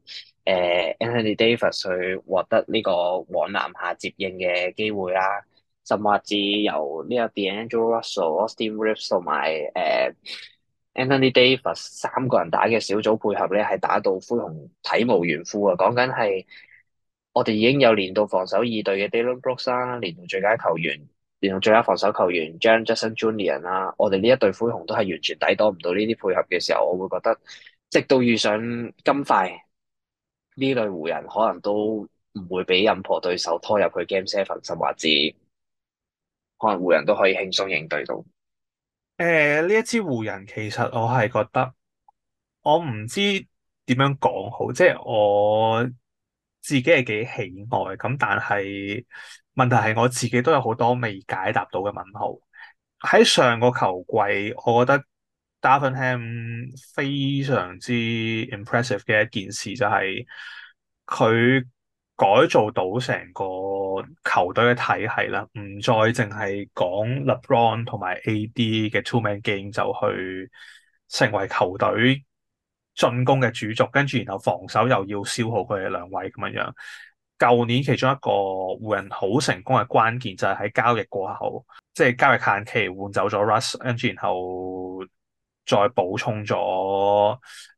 Anthony Davis 去獲得呢個往籃下接應嘅機會啦，甚至由呢個 D'Angelo Russell、Austin Reeves 同埋Anthony Davis 三個人打嘅小組配合咧，係打到灰熊體無完膚啊！講緊係。我哋已經有年度防守二隊嘅 Dillon Brooks 啦，年度最佳球員、年度最佳防守球員 Jaren Jackson Jr. 啦，我哋呢一隊灰熊都係完全抵擋唔到呢啲配合嘅時候，我會覺得，直到遇上金塊呢類湖人，可能都唔會俾任何對手拖入去 Game Seven，甚至可能湖人都可以輕鬆應對到。 呢一支湖人其實我係覺得，我唔知點樣講好，即係我自己係幾喜愛咁，但係問題係我自己都有好多未解答到嘅問號。喺上個球季，我覺得 Darvin Ham 非常之 impressive 嘅一件事就係佢改造到成個球隊嘅體系啦，唔再淨係講 LeBron 同埋 AD 嘅 two man game 就去成為球隊進攻嘅主軸，跟住然後防守又要消耗佢哋兩位咁樣樣。舊年其中一個湖人好成功嘅關鍵就係喺交易過後，即係交易限期換走咗 Russ，跟住然後再補充咗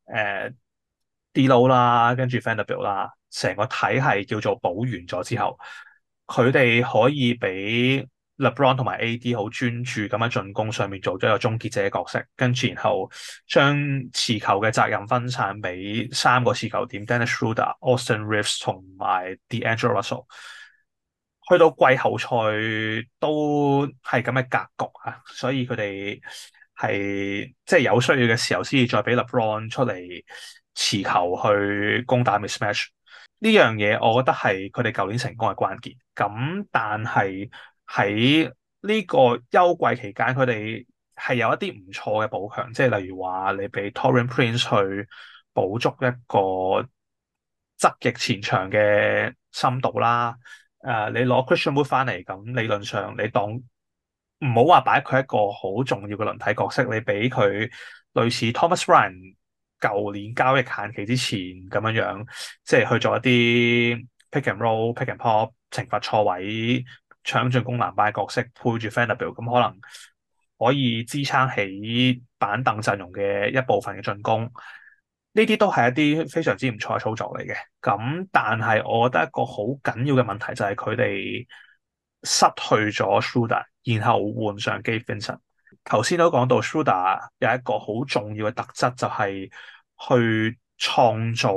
D-Lo 啦，跟住 Vanderbilt 啦，成個體系叫做補完咗之後，佢哋可以俾 LeBron 同埋 AD 好專注咁喺進攻上面做咗一個終結者嘅角色，跟住然後將持球嘅責任分散俾三個持球點 Dennis Schroeder、Austin Reeves 同埋 D'Angelo Russell。去到季後賽都係咁嘅格局啊，所以佢哋係即係有需要嘅時候先至再俾 LeBron 出嚟持球去攻打 mismatch。呢樣嘢我覺得係佢哋舊年成功嘅關鍵。咁但係喺呢個休季期間，佢哋係有一啲唔錯嘅補強，即係例如話你俾 Taurean Prince 去補足一個側翼前場嘅深度啦。你攞 Christian Wood 翻嚟，咁理論上你當唔好話擺佢一個好重要嘅輪替角色，你俾佢類似 Thomas Bryant 舊年交易限期之前咁樣樣，即係去做一啲 pick and roll、pick and pop、懲罰錯位、搶進攻籃板嘅角色，配住 Vanderbilt，咁可能可以支撐起板凳陣容嘅一部分嘅進攻。呢啲都係一啲非常之唔錯嘅操作嚟嘅。咁但係我覺得一個好緊要嘅問題就係佢哋失去咗 Schroeder，然後換上 Gabe Vincent。頭先都講到 Schroeder 有一個好重要嘅特質，就係去創造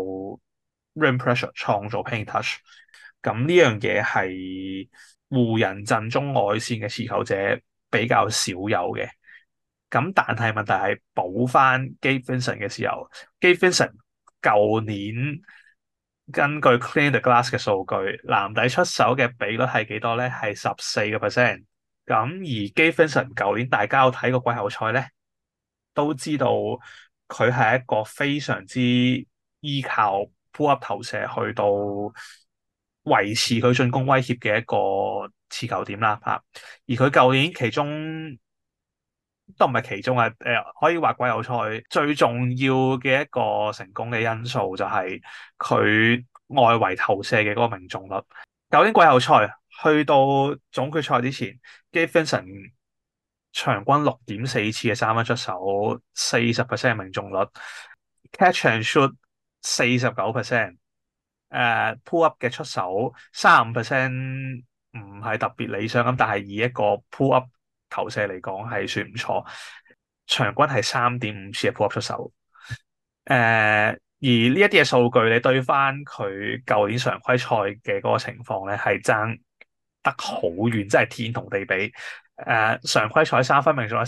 rim pressure，創造 paint touch。咁呢樣嘢係湖人陣中外線嘅持球者比較少有嘅。咁但係問題係補翻 Gabe Vincent 嘅時候，Gabe Vincent 舊年根據 Clean the Glass 嘅數據，籃底出手嘅比率係幾多咧？係14%。咁而 Gabe Vincent 舊年大家有睇過季後賽咧，都知道佢係一個非常之依靠 pull up 投射去到維持佢進攻威脅嘅一個持球點啦嚇。而佢舊年其中都唔係其中啊，可以話季後賽最重要嘅一個成功嘅因素就係佢外圍投射嘅嗰個命中率。舊年季後賽去到總決賽之前，Gabe Vincent 場均6.4次嘅三分出手，40%嘅命中率，catch and shoot 49%，pull up 嘅出手35%，唔係特別理想咁，但係以一個 pull up 投射嚟講係算唔錯，場均係3.5次嘅 pull up 出手。而呢一啲嘅數據，你對翻佢舊年常規賽嘅嗰個情況咧，係爭得好遠，真係天同地比。常規賽三分命中率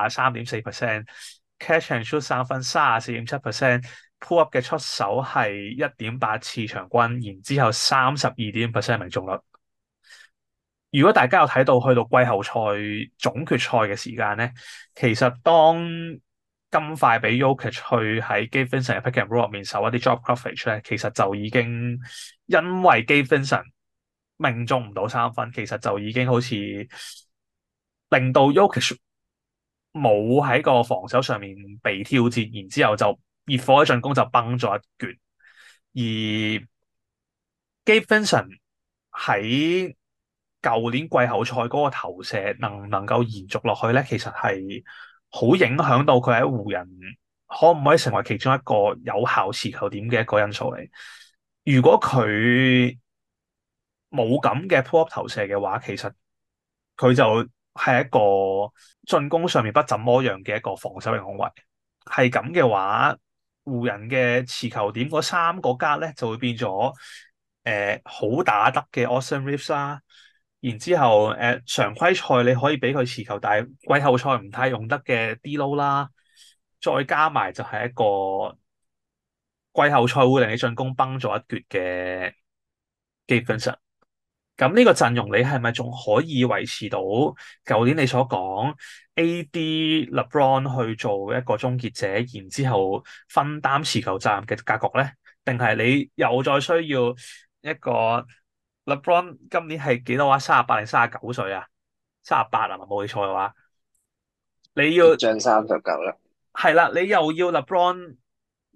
33.4%，catch and shoot 三分34.7%，pull up 嘅出手係1.8次場均，然之後32.5%命中率。如果大家有睇到去到季後賽總決賽嘅時間咧，其實當金塊俾 Jokic 去喺 Gabe Vincent 嘅 pick and roll 入面守一啲 drop coverage 咧，其實就已經因為 Gabe Vincent 命中唔到三分，其實就已經好似令到 Jokic 冇喺個防守上面被挑戰，然之後就熱火嘅進攻就崩咗一橛，而 Gabe Vincent 喺舊年季後賽嗰個投射能唔能夠延續落去咧？其實係好影響到佢喺湖人可唔可以成為其中一個有效持球點嘅一個因素嚟。如果佢冇咁嘅 pull up 投射嘅話，其實佢就係一個進攻上面不怎麼樣嘅一個防守型控衛。係咁嘅話，湖人嘅持球點嗰三個格咧就會變咗好打得嘅 Austin Reeves 啦。然之後常規賽你可以俾佢持球，但係季後賽唔太用得嘅 D-Lo 啦，再加埋就係一個季後賽會令你進攻崩咗一橛嘅 Gabe Vincent。咁呢個陣容你係咪仲可以維持到舊年你所講 AD LeBron 去做一個終結者，然之後分擔持球責任嘅格局咧？定係你又再需要一個 LeBron 今年係幾多啊？38定39歲啊？38啊，冇記錯嘅話，你要將39啦。 係啦，你又要 LeBron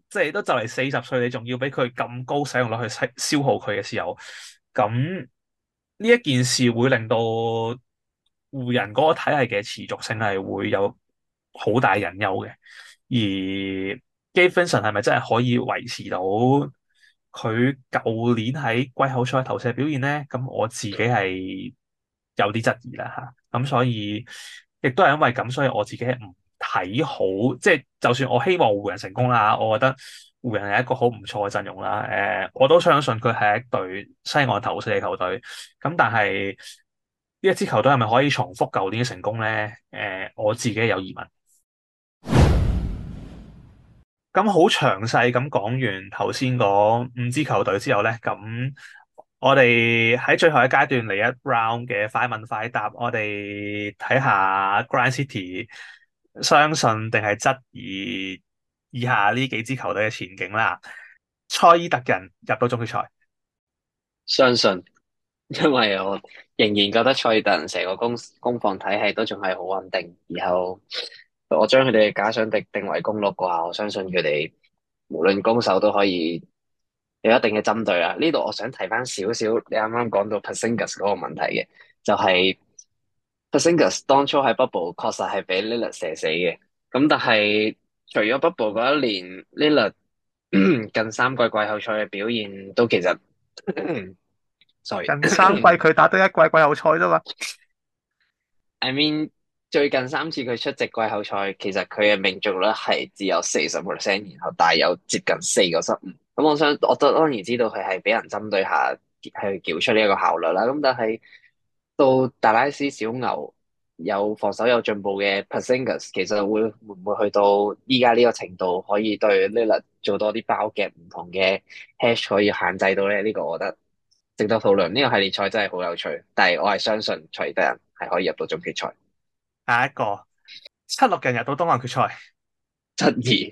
即係都就嚟40歲，你仲要俾佢咁高使用率去消耗佢嘅時候，咁呢一件事會令到湖人嗰個體系嘅持續性係會有好大隱憂嘅。而 Gabe Vincent 係咪真係可以維持到佢舊年喺季後賽投射表現咧？咁我自己係有啲質疑啦嚇。咁所以亦都係因為咁，所以我自己係唔睇好，即係就算我希望湖人成功啦，我覺得湖人係一個好唔錯嘅陣容啦。我都相信佢係一隊西岸頭四嘅球隊。咁但係呢一支球隊係咪可以重複舊年嘅成功咧？我自己有疑問。咁好詳細咁講完頭先嗰5支球隊之後咧，咁我哋喺最後一階段嚟一 round 嘅快問快答，我哋睇下 Grind City 相信定係質疑以下呢幾支球隊嘅前景啦。塞爾特人入到總決賽， 相信，因為我仍然覺得賽爾特人成個攻防體系都仲係好穩定，然後我將佢哋嘅假想敵定為公鹿嘅話，我相信佢哋無論攻守都可以有一定嘅針對啦。呢度我想提翻少少，你啱啱講到 Porzingis 嗰個問題嘅，就係 Porzingis 當初喺 Bubble 確實係俾 Lillard 射死嘅，咁但係除咗 Bubble 嗰一年，Lillard 近3季季後賽嘅表現都其實，sorry。 近3季佢打得一季季後賽啫嘛。 I mean，最近3次佢出席季後賽，其實佢嘅命中率係只有40%，然後帶有接近4個失誤。咁我都當然知道佢係俾人針對下，去繳出呢一個效率啦。咁但係到達拉斯小牛有防守有進步嘅 Porzingis，其實會唔會去到依家呢個程度，可以對 Lillard 做多啲包夾唔同嘅 hash 可以限制到咧？呢個我覺得值得討論。呢個系列賽真係好有趣，但係我係相信賽爾特人係可以入到總決賽。 下一個76人入到東岸決賽， 質疑。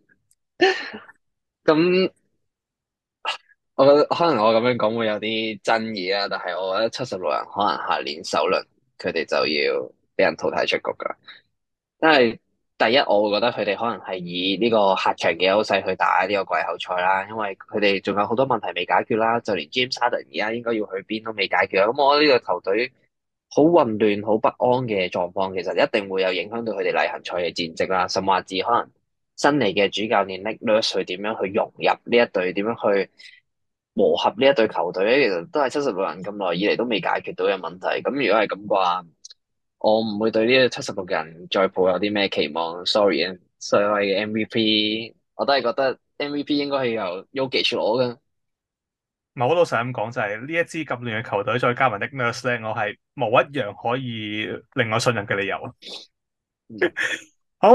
咁我覺得可能我咁樣講會有啲爭議啦，但係我覺得76人可能下年首輪佢哋就要俾人淘汰出局噶。因為第一，我會覺得佢哋可能係以呢個客場嘅優勢去打呢個季後賽啦，因為佢哋仲有好多問題未解決啦，就連 James Harden 而家應該要去邊都未解決。咁我覺得呢個球隊好混亂、好不安嘅狀況，其實一定會有影響到佢哋例行賽嘅戰績啦，甚至可能新嚟嘅主教練 Nick Nurse 去點樣去融入呢一隊，點樣去磨合呢一隊球隊咧，其實都係76人咁耐以嚟都未解決到嘅問題。咁如果係咁嘅話，我唔會對呢76人再抱有啲咩期望。Sorry 啊，所謂嘅 MVP，我都係覺得 MVP 應該係由 Jokic 攞嘅。 我都想咁講就係呢一支咁亂嘅球隊，再加埋 Nick Nurse 咧，我係冇一樣可以令我信任嘅理由。 嗯好，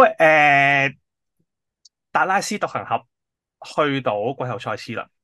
達拉斯獨行俠去到季後賽次啦。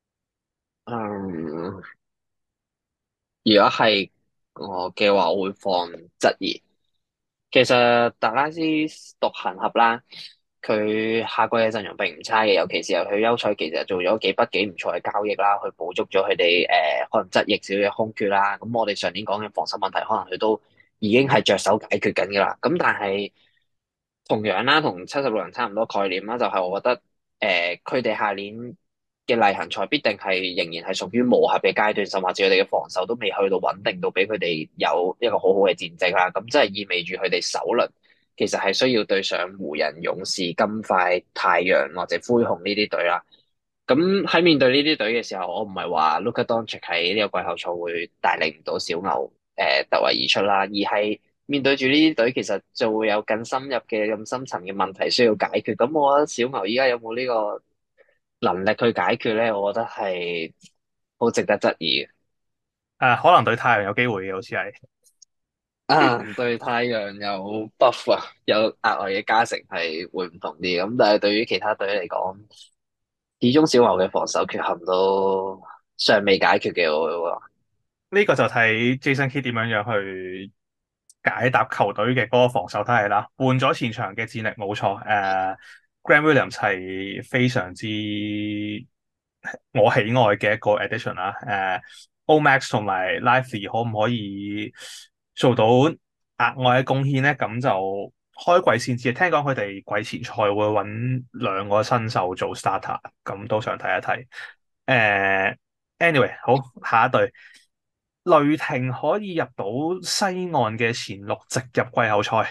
嗯，如果係我嘅話，我會放質疑。其實達拉斯獨行俠啦，佢下季嘅陣容並唔差嘅，尤其是係佢休賽期其實做咗幾筆幾唔錯嘅交易啦，去補足咗佢哋可能側翼少少嘅空缺啦。咁我哋上年講嘅防守問題，可能佢都已經係着手解決緊㗎啦。咁但係同樣啦，同76人差唔多概念啦，就係我覺得佢哋下年嘅例行賽必定係仍然係屬於磨合嘅階段，甚至佢哋嘅防守都未去到穩定到俾佢哋有一個好好嘅戰績啦。咁即係意味住佢哋首輪其實係需要對上湖人、勇士、金塊、太陽或者灰熊呢啲隊啦。咁喺面對呢啲隊嘅時候，我唔係話 Luka Doncic 喺呢個季後賽會帶領唔到小牛突圍而出啦，而係面對住呢啲隊，其實就會有更深入嘅、咁深層嘅問題需要解決。咁我覺得小牛依家有冇呢個能力去解決咧？我覺得係好值得質疑嘅。 可能對太陽有機會嘅，好似係。 啊，對太陽有 buff 啊，有額外嘅加成係會唔同啲。咁但係對於其他隊嚟講，始終小牛嘅防守缺陷都尚未解決嘅，我會話。 呢個就睇 Jason Kidd 點樣去解答球隊嘅嗰個防守體系啦。換咗前場嘅戰力冇錯，Grant Williams 係非常之我喜愛嘅一個 addition 啦。Omax 同埋 Lively 可唔可以做到額外嘅貢獻咧？咁就開季先知，聽講佢哋季前賽會揾兩個新秀做 starter，咁都想睇一睇。anyway，好，下一隊，雷霆可以入到西岸嘅前六，直入季後賽。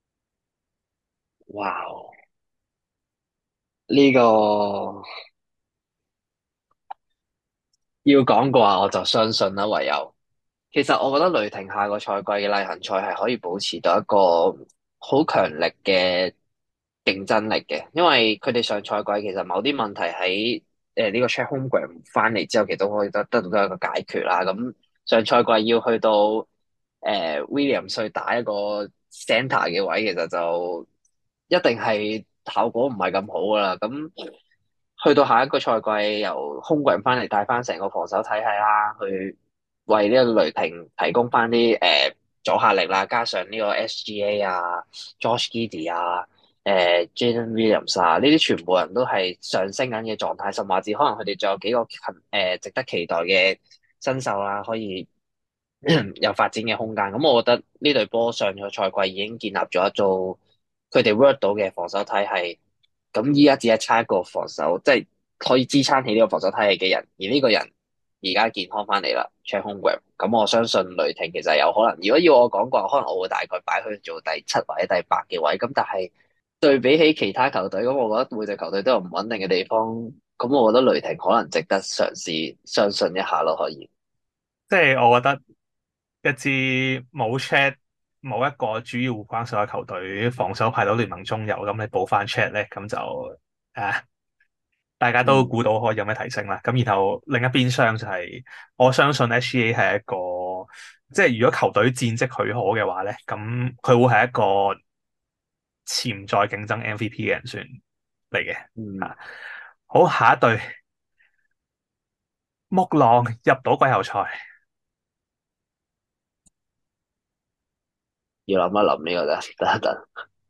哇！呢個要講嘅話，我就相信啦，唯有。其實我覺得雷霆下個賽季嘅例行賽係可以保持到一個好強力嘅競爭力嘅，因為佢哋上賽季其實某啲問題喺呢個 Chet Holmgren 翻嚟之後，其實都可以得到一個解決啦。咁上賽季要去到Williams 去打一個 center 嘅位，其實就一定係效果唔係咁好噶啦。咁去到下一個賽季，由 Holmgren 翻嚟帶翻成個防守體系啦，去為呢個雷霆提供翻啲阻嚇力啦，加上呢個 SGA 啊、Josh Giddey 啊、Jalen Williams 啊，呢啲全部人都係上升緊嘅狀態，甚至可能佢哋仲有幾個值得期待嘅新秀啦，可以有發展嘅空間。咁我覺得呢隊波上個賽季已經建立咗一組佢哋 work 到嘅防守體系。咁依家只係差一個防守，即係可以支撐起呢個防守體系嘅人，而呢個人而家健康翻嚟啦，Chet Holmgren。咁我相信雷霆其實有可能，如果要我講嘅話，可能我會大概擺佢做第七或者第八嘅位。咁但係對比起其他球隊，咁我覺得每隊球隊都有唔穩定嘅地方。咁我覺得雷霆可能值得嘗試，相信一下咯，可以。 即係我覺得一支冇 Chet 冇一個主要護框手嘅球隊，防守排到聯盟中游，咁你補翻 Chet 咧，咁就啊，大家都嗯估到可以有咩提升啦。咁然後另一邊廂就係、我相信 SGA 係一個，即係如果球隊戰績許可嘅話咧，咁佢會係一個潛在競爭 MVP 嘅人選嚟嘅。 嗯， 啊，好，下一隊木狼入到季後賽。 要諗一諗呢個啫，等一等。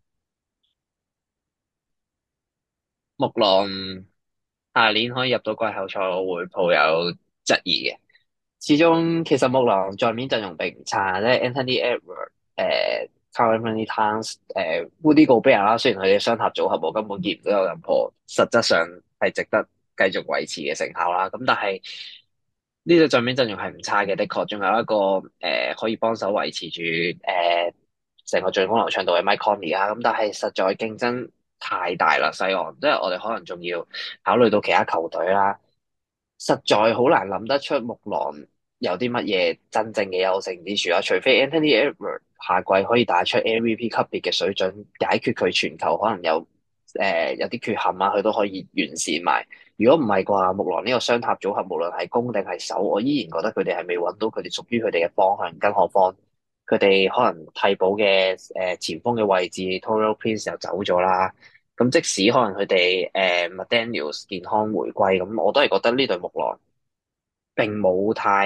木狼下年可以入到季後賽，我會抱有質疑嘅。始終其實木狼在面陣容並唔差，即係 Anthony Edwards、Karl-Anthony Towns、Rudy Gobert 啦。雖然佢哋雙塔組合我根本見唔到有任何實質上係值得繼續維持嘅成效啦。咁但係呢個在面陣容係唔差嘅，的確仲有一個可以幫手維持住成個進攻流暢度嘅 Mike Conley 啊。咁但係實在競爭太大啦，西岸即係我哋可能仲要考慮到其他球隊啦。實在好難諗得出木狼有啲乜嘢真正嘅優勝之處啦，除非 Anthony Edwards 下季可以打出 MVP 級別嘅水準，解決佢傳球可能有啲缺陷啊，佢都可以完善埋。如果唔係嘅話，木狼呢個雙塔組合，無論係攻定係守，我依然覺得佢哋係未揾到佢哋屬於佢哋嘅方向。更何況佢哋可能替補嘅前鋒嘅位置，Taurean Prince 又走咗啦。咁即使可能佢哋McDaniels 健康回歸，咁我都係覺得呢隊木狼並冇太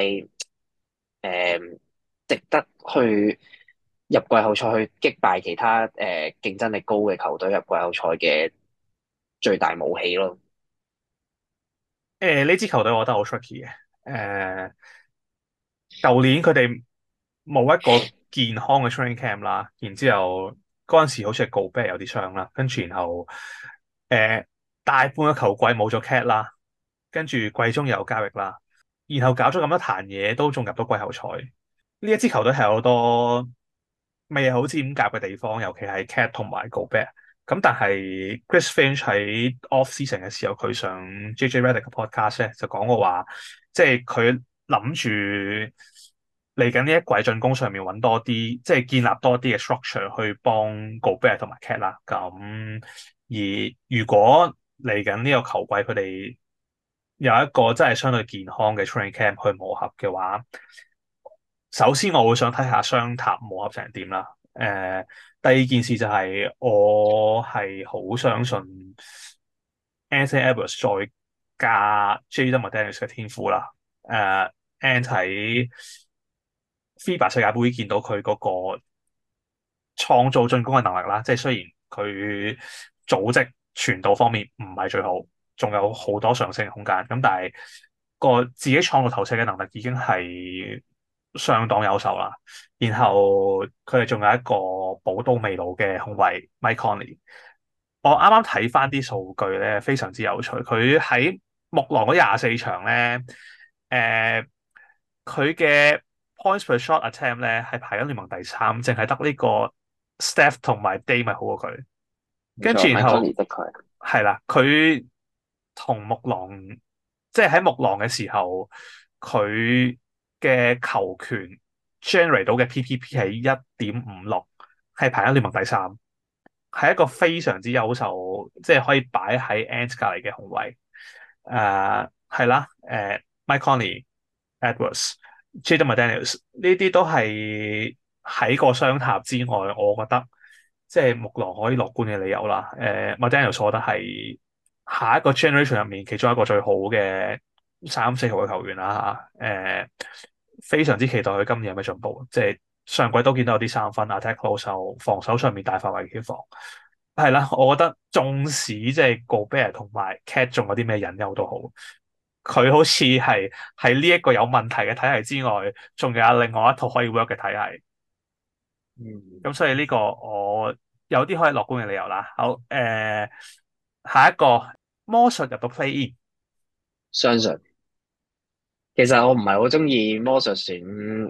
值得去入季後賽去擊敗其他競爭力高嘅球隊入季後賽嘅最大武器咯。 呢支球隊我覺得好 tricky 嘅。舊年佢哋冇一個健康嘅 training camp 啦，然之後嗰陣時好似係 Gobert 有啲傷啦，跟住然後誒大半個球季冇咗 Cat 啦，跟住季中又有交易啦，然後搞咗咁多壇嘢都仲入到季後賽。呢一支球隊係有好多未係好似咁夾嘅地方，尤其係 Cat 同埋 Gobert。咁但係 Chris Finch 喺 off season 嘅時候，佢上 JJ Redick 嘅 podcast 咧就講過話，即係佢諗住嚟緊呢一季進攻上面揾多啲，即係建立多啲嘅 structure 去幫 Gobert 同埋 Cat 啦。咁而如果嚟緊呢個球季佢哋有一個真係相對健康嘅 training camp 去磨合嘅話，首先我會想睇下雙塔磨合成點啦。第二件事就係我係好相信 Anthony Edwards 再加 Jaden McDaniels 嘅天賦啦。And 喺 FIBA 世界盃見到佢嗰個創造進攻嘅能力啦，即係雖然佢組織傳導方面唔係最好，仲有好多上升嘅空間。咁但係個自己創造投射嘅能力已經係相當優秀啦。然後佢哋仲有一個寶刀未老嘅控衛 Mike Conley。我啱啱睇翻啲數據咧，非常之有趣。佢喺木狼嗰24場咧，佢嘅 points per shot attempt 咧係排緊聯盟第3，淨係得呢個 Steph 同埋 Dame 咪好過佢。跟住冇錯，Mike 然後 Conley 的確係啦，佢同木狼即係喺木狼嘅時候，佢嘅球權 generate 到嘅 PPP 係1.56，係排緊聯盟第3。係一個非常之優秀，即係可以擺喺 Ant 隔離嘅控衛。係啦，Mike Conley、Edwards、Jaden McDaniels 呢啲都係喺個雙塔之外，我覺得即係木狼可以樂觀嘅理由啦。McDaniels 我覺得係下一個 generation 入面其中一個最好嘅3、4號嘅球員啦嚇。非常之期待佢今年有咩進步，即係。上季都見到有啲三分，attack close，防守上面大範圍嘅防，係啦。我覺得縱使即係 Gobert 同埋 Cat 仲有啲咩隱憂都好，佢好似係喺呢一個有問題嘅體系之外，仲有另外一套可以 work 嘅體系。咁所以呢個我有啲可以樂觀嘅理由啦。好，下一個魔術入到 play in， 相信。其實我唔係好中意魔術選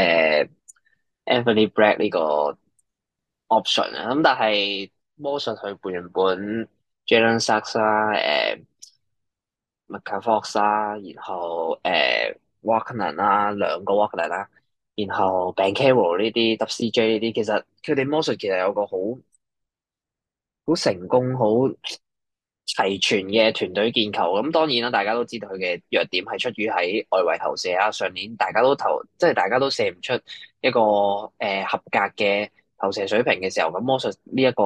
Anthony Black 呢個 option 啊，咁但係魔術佢原本 Jalen Suggs 啦，Markelle Fultz 啦，然後Wagner 啦，兩個 Wagner 啦，然後 Banchero 呢啲 WCJ 呢啲，其實佢哋魔術其實有個好成功、好齊全嘅團隊建構。咁當然啦，大家都知道佢嘅弱點係出於喺外圍投射啊。上年大家都即係大家都射唔出一個合格嘅投射水平嘅時候，咁魔術呢一個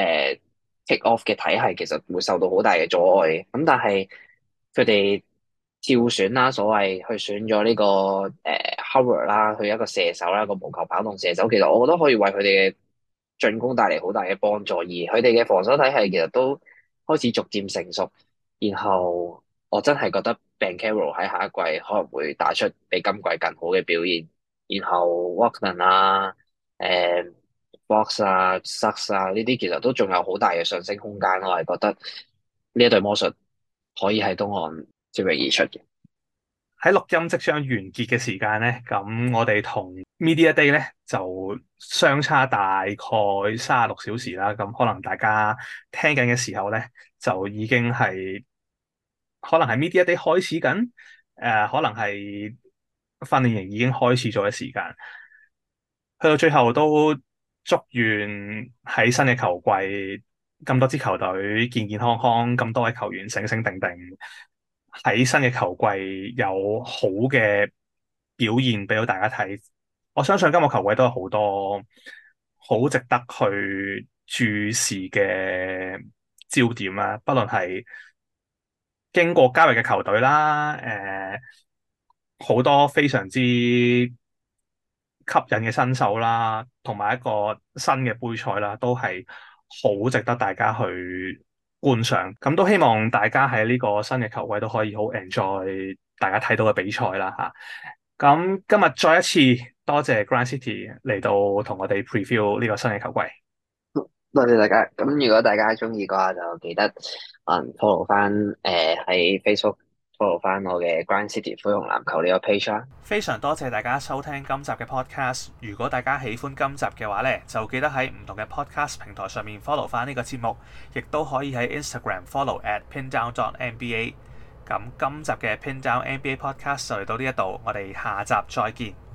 kick off 嘅體系其實會受到好大嘅阻礙嘅。咁但係佢哋跳選啦，所謂去選咗呢個Howard 啦，佢一個射手啦，一個無球跑動射手，其實我覺得可以為佢哋嘅進攻帶嚟好大嘅幫助，而佢哋嘅防守體系其實都開始逐漸成熟。然後我真係覺得 Banchero 喺下一季可能會打出比今季更好嘅表現。然後 Wagner 啊、Fox 啊、Suggs 啊呢啲其實都仲有好大嘅上升空間。我係覺得呢一隊魔術可以喺東岸脫穎而出嘅。 喺錄音即將完結嘅時間咧，咁我哋同 Media Day 咧就相差大概36小時啦。咁可能大家聽緊嘅時候咧，就已經係可能係 Media Day 開始緊，可能係訓練營已經開始咗嘅時間。去到最後都祝願喺新嘅球季咁多支球隊健健康康，咁多位球員醒醒定定。喺新嘅球季有好嘅表現俾到大家睇，我相信今個球季都有好多好值得去注視嘅焦點啦，不論係經過交易嘅球隊啦，好多非常之吸引嘅新手啦，同埋一個新嘅杯賽啦，都係好值得大家去觀賞。咁都希望大家喺呢個新嘅球季都可以好 enjoy 大家睇到嘅比賽啦嚇。咁今日再一次多謝 Grind City 嚟到同我哋 preview 呢個新嘅球季。 多謝大家。咁如果大家中意嘅話，就記得follow 翻喺 Facebook follow 翻我嘅 Grind City 灰熊籃球呢個 page 啦。 非常多謝大家收聽今集嘅 podcast。如果大家喜歡今集嘅話咧，就記得喺唔同嘅 podcast 平台上面 follow 翻呢個節目，亦都可以喺 Instagram follow @pindown.nba。咁今集嘅 Pindown NBA Podcast 就嚟到呢一度，我哋下集再見。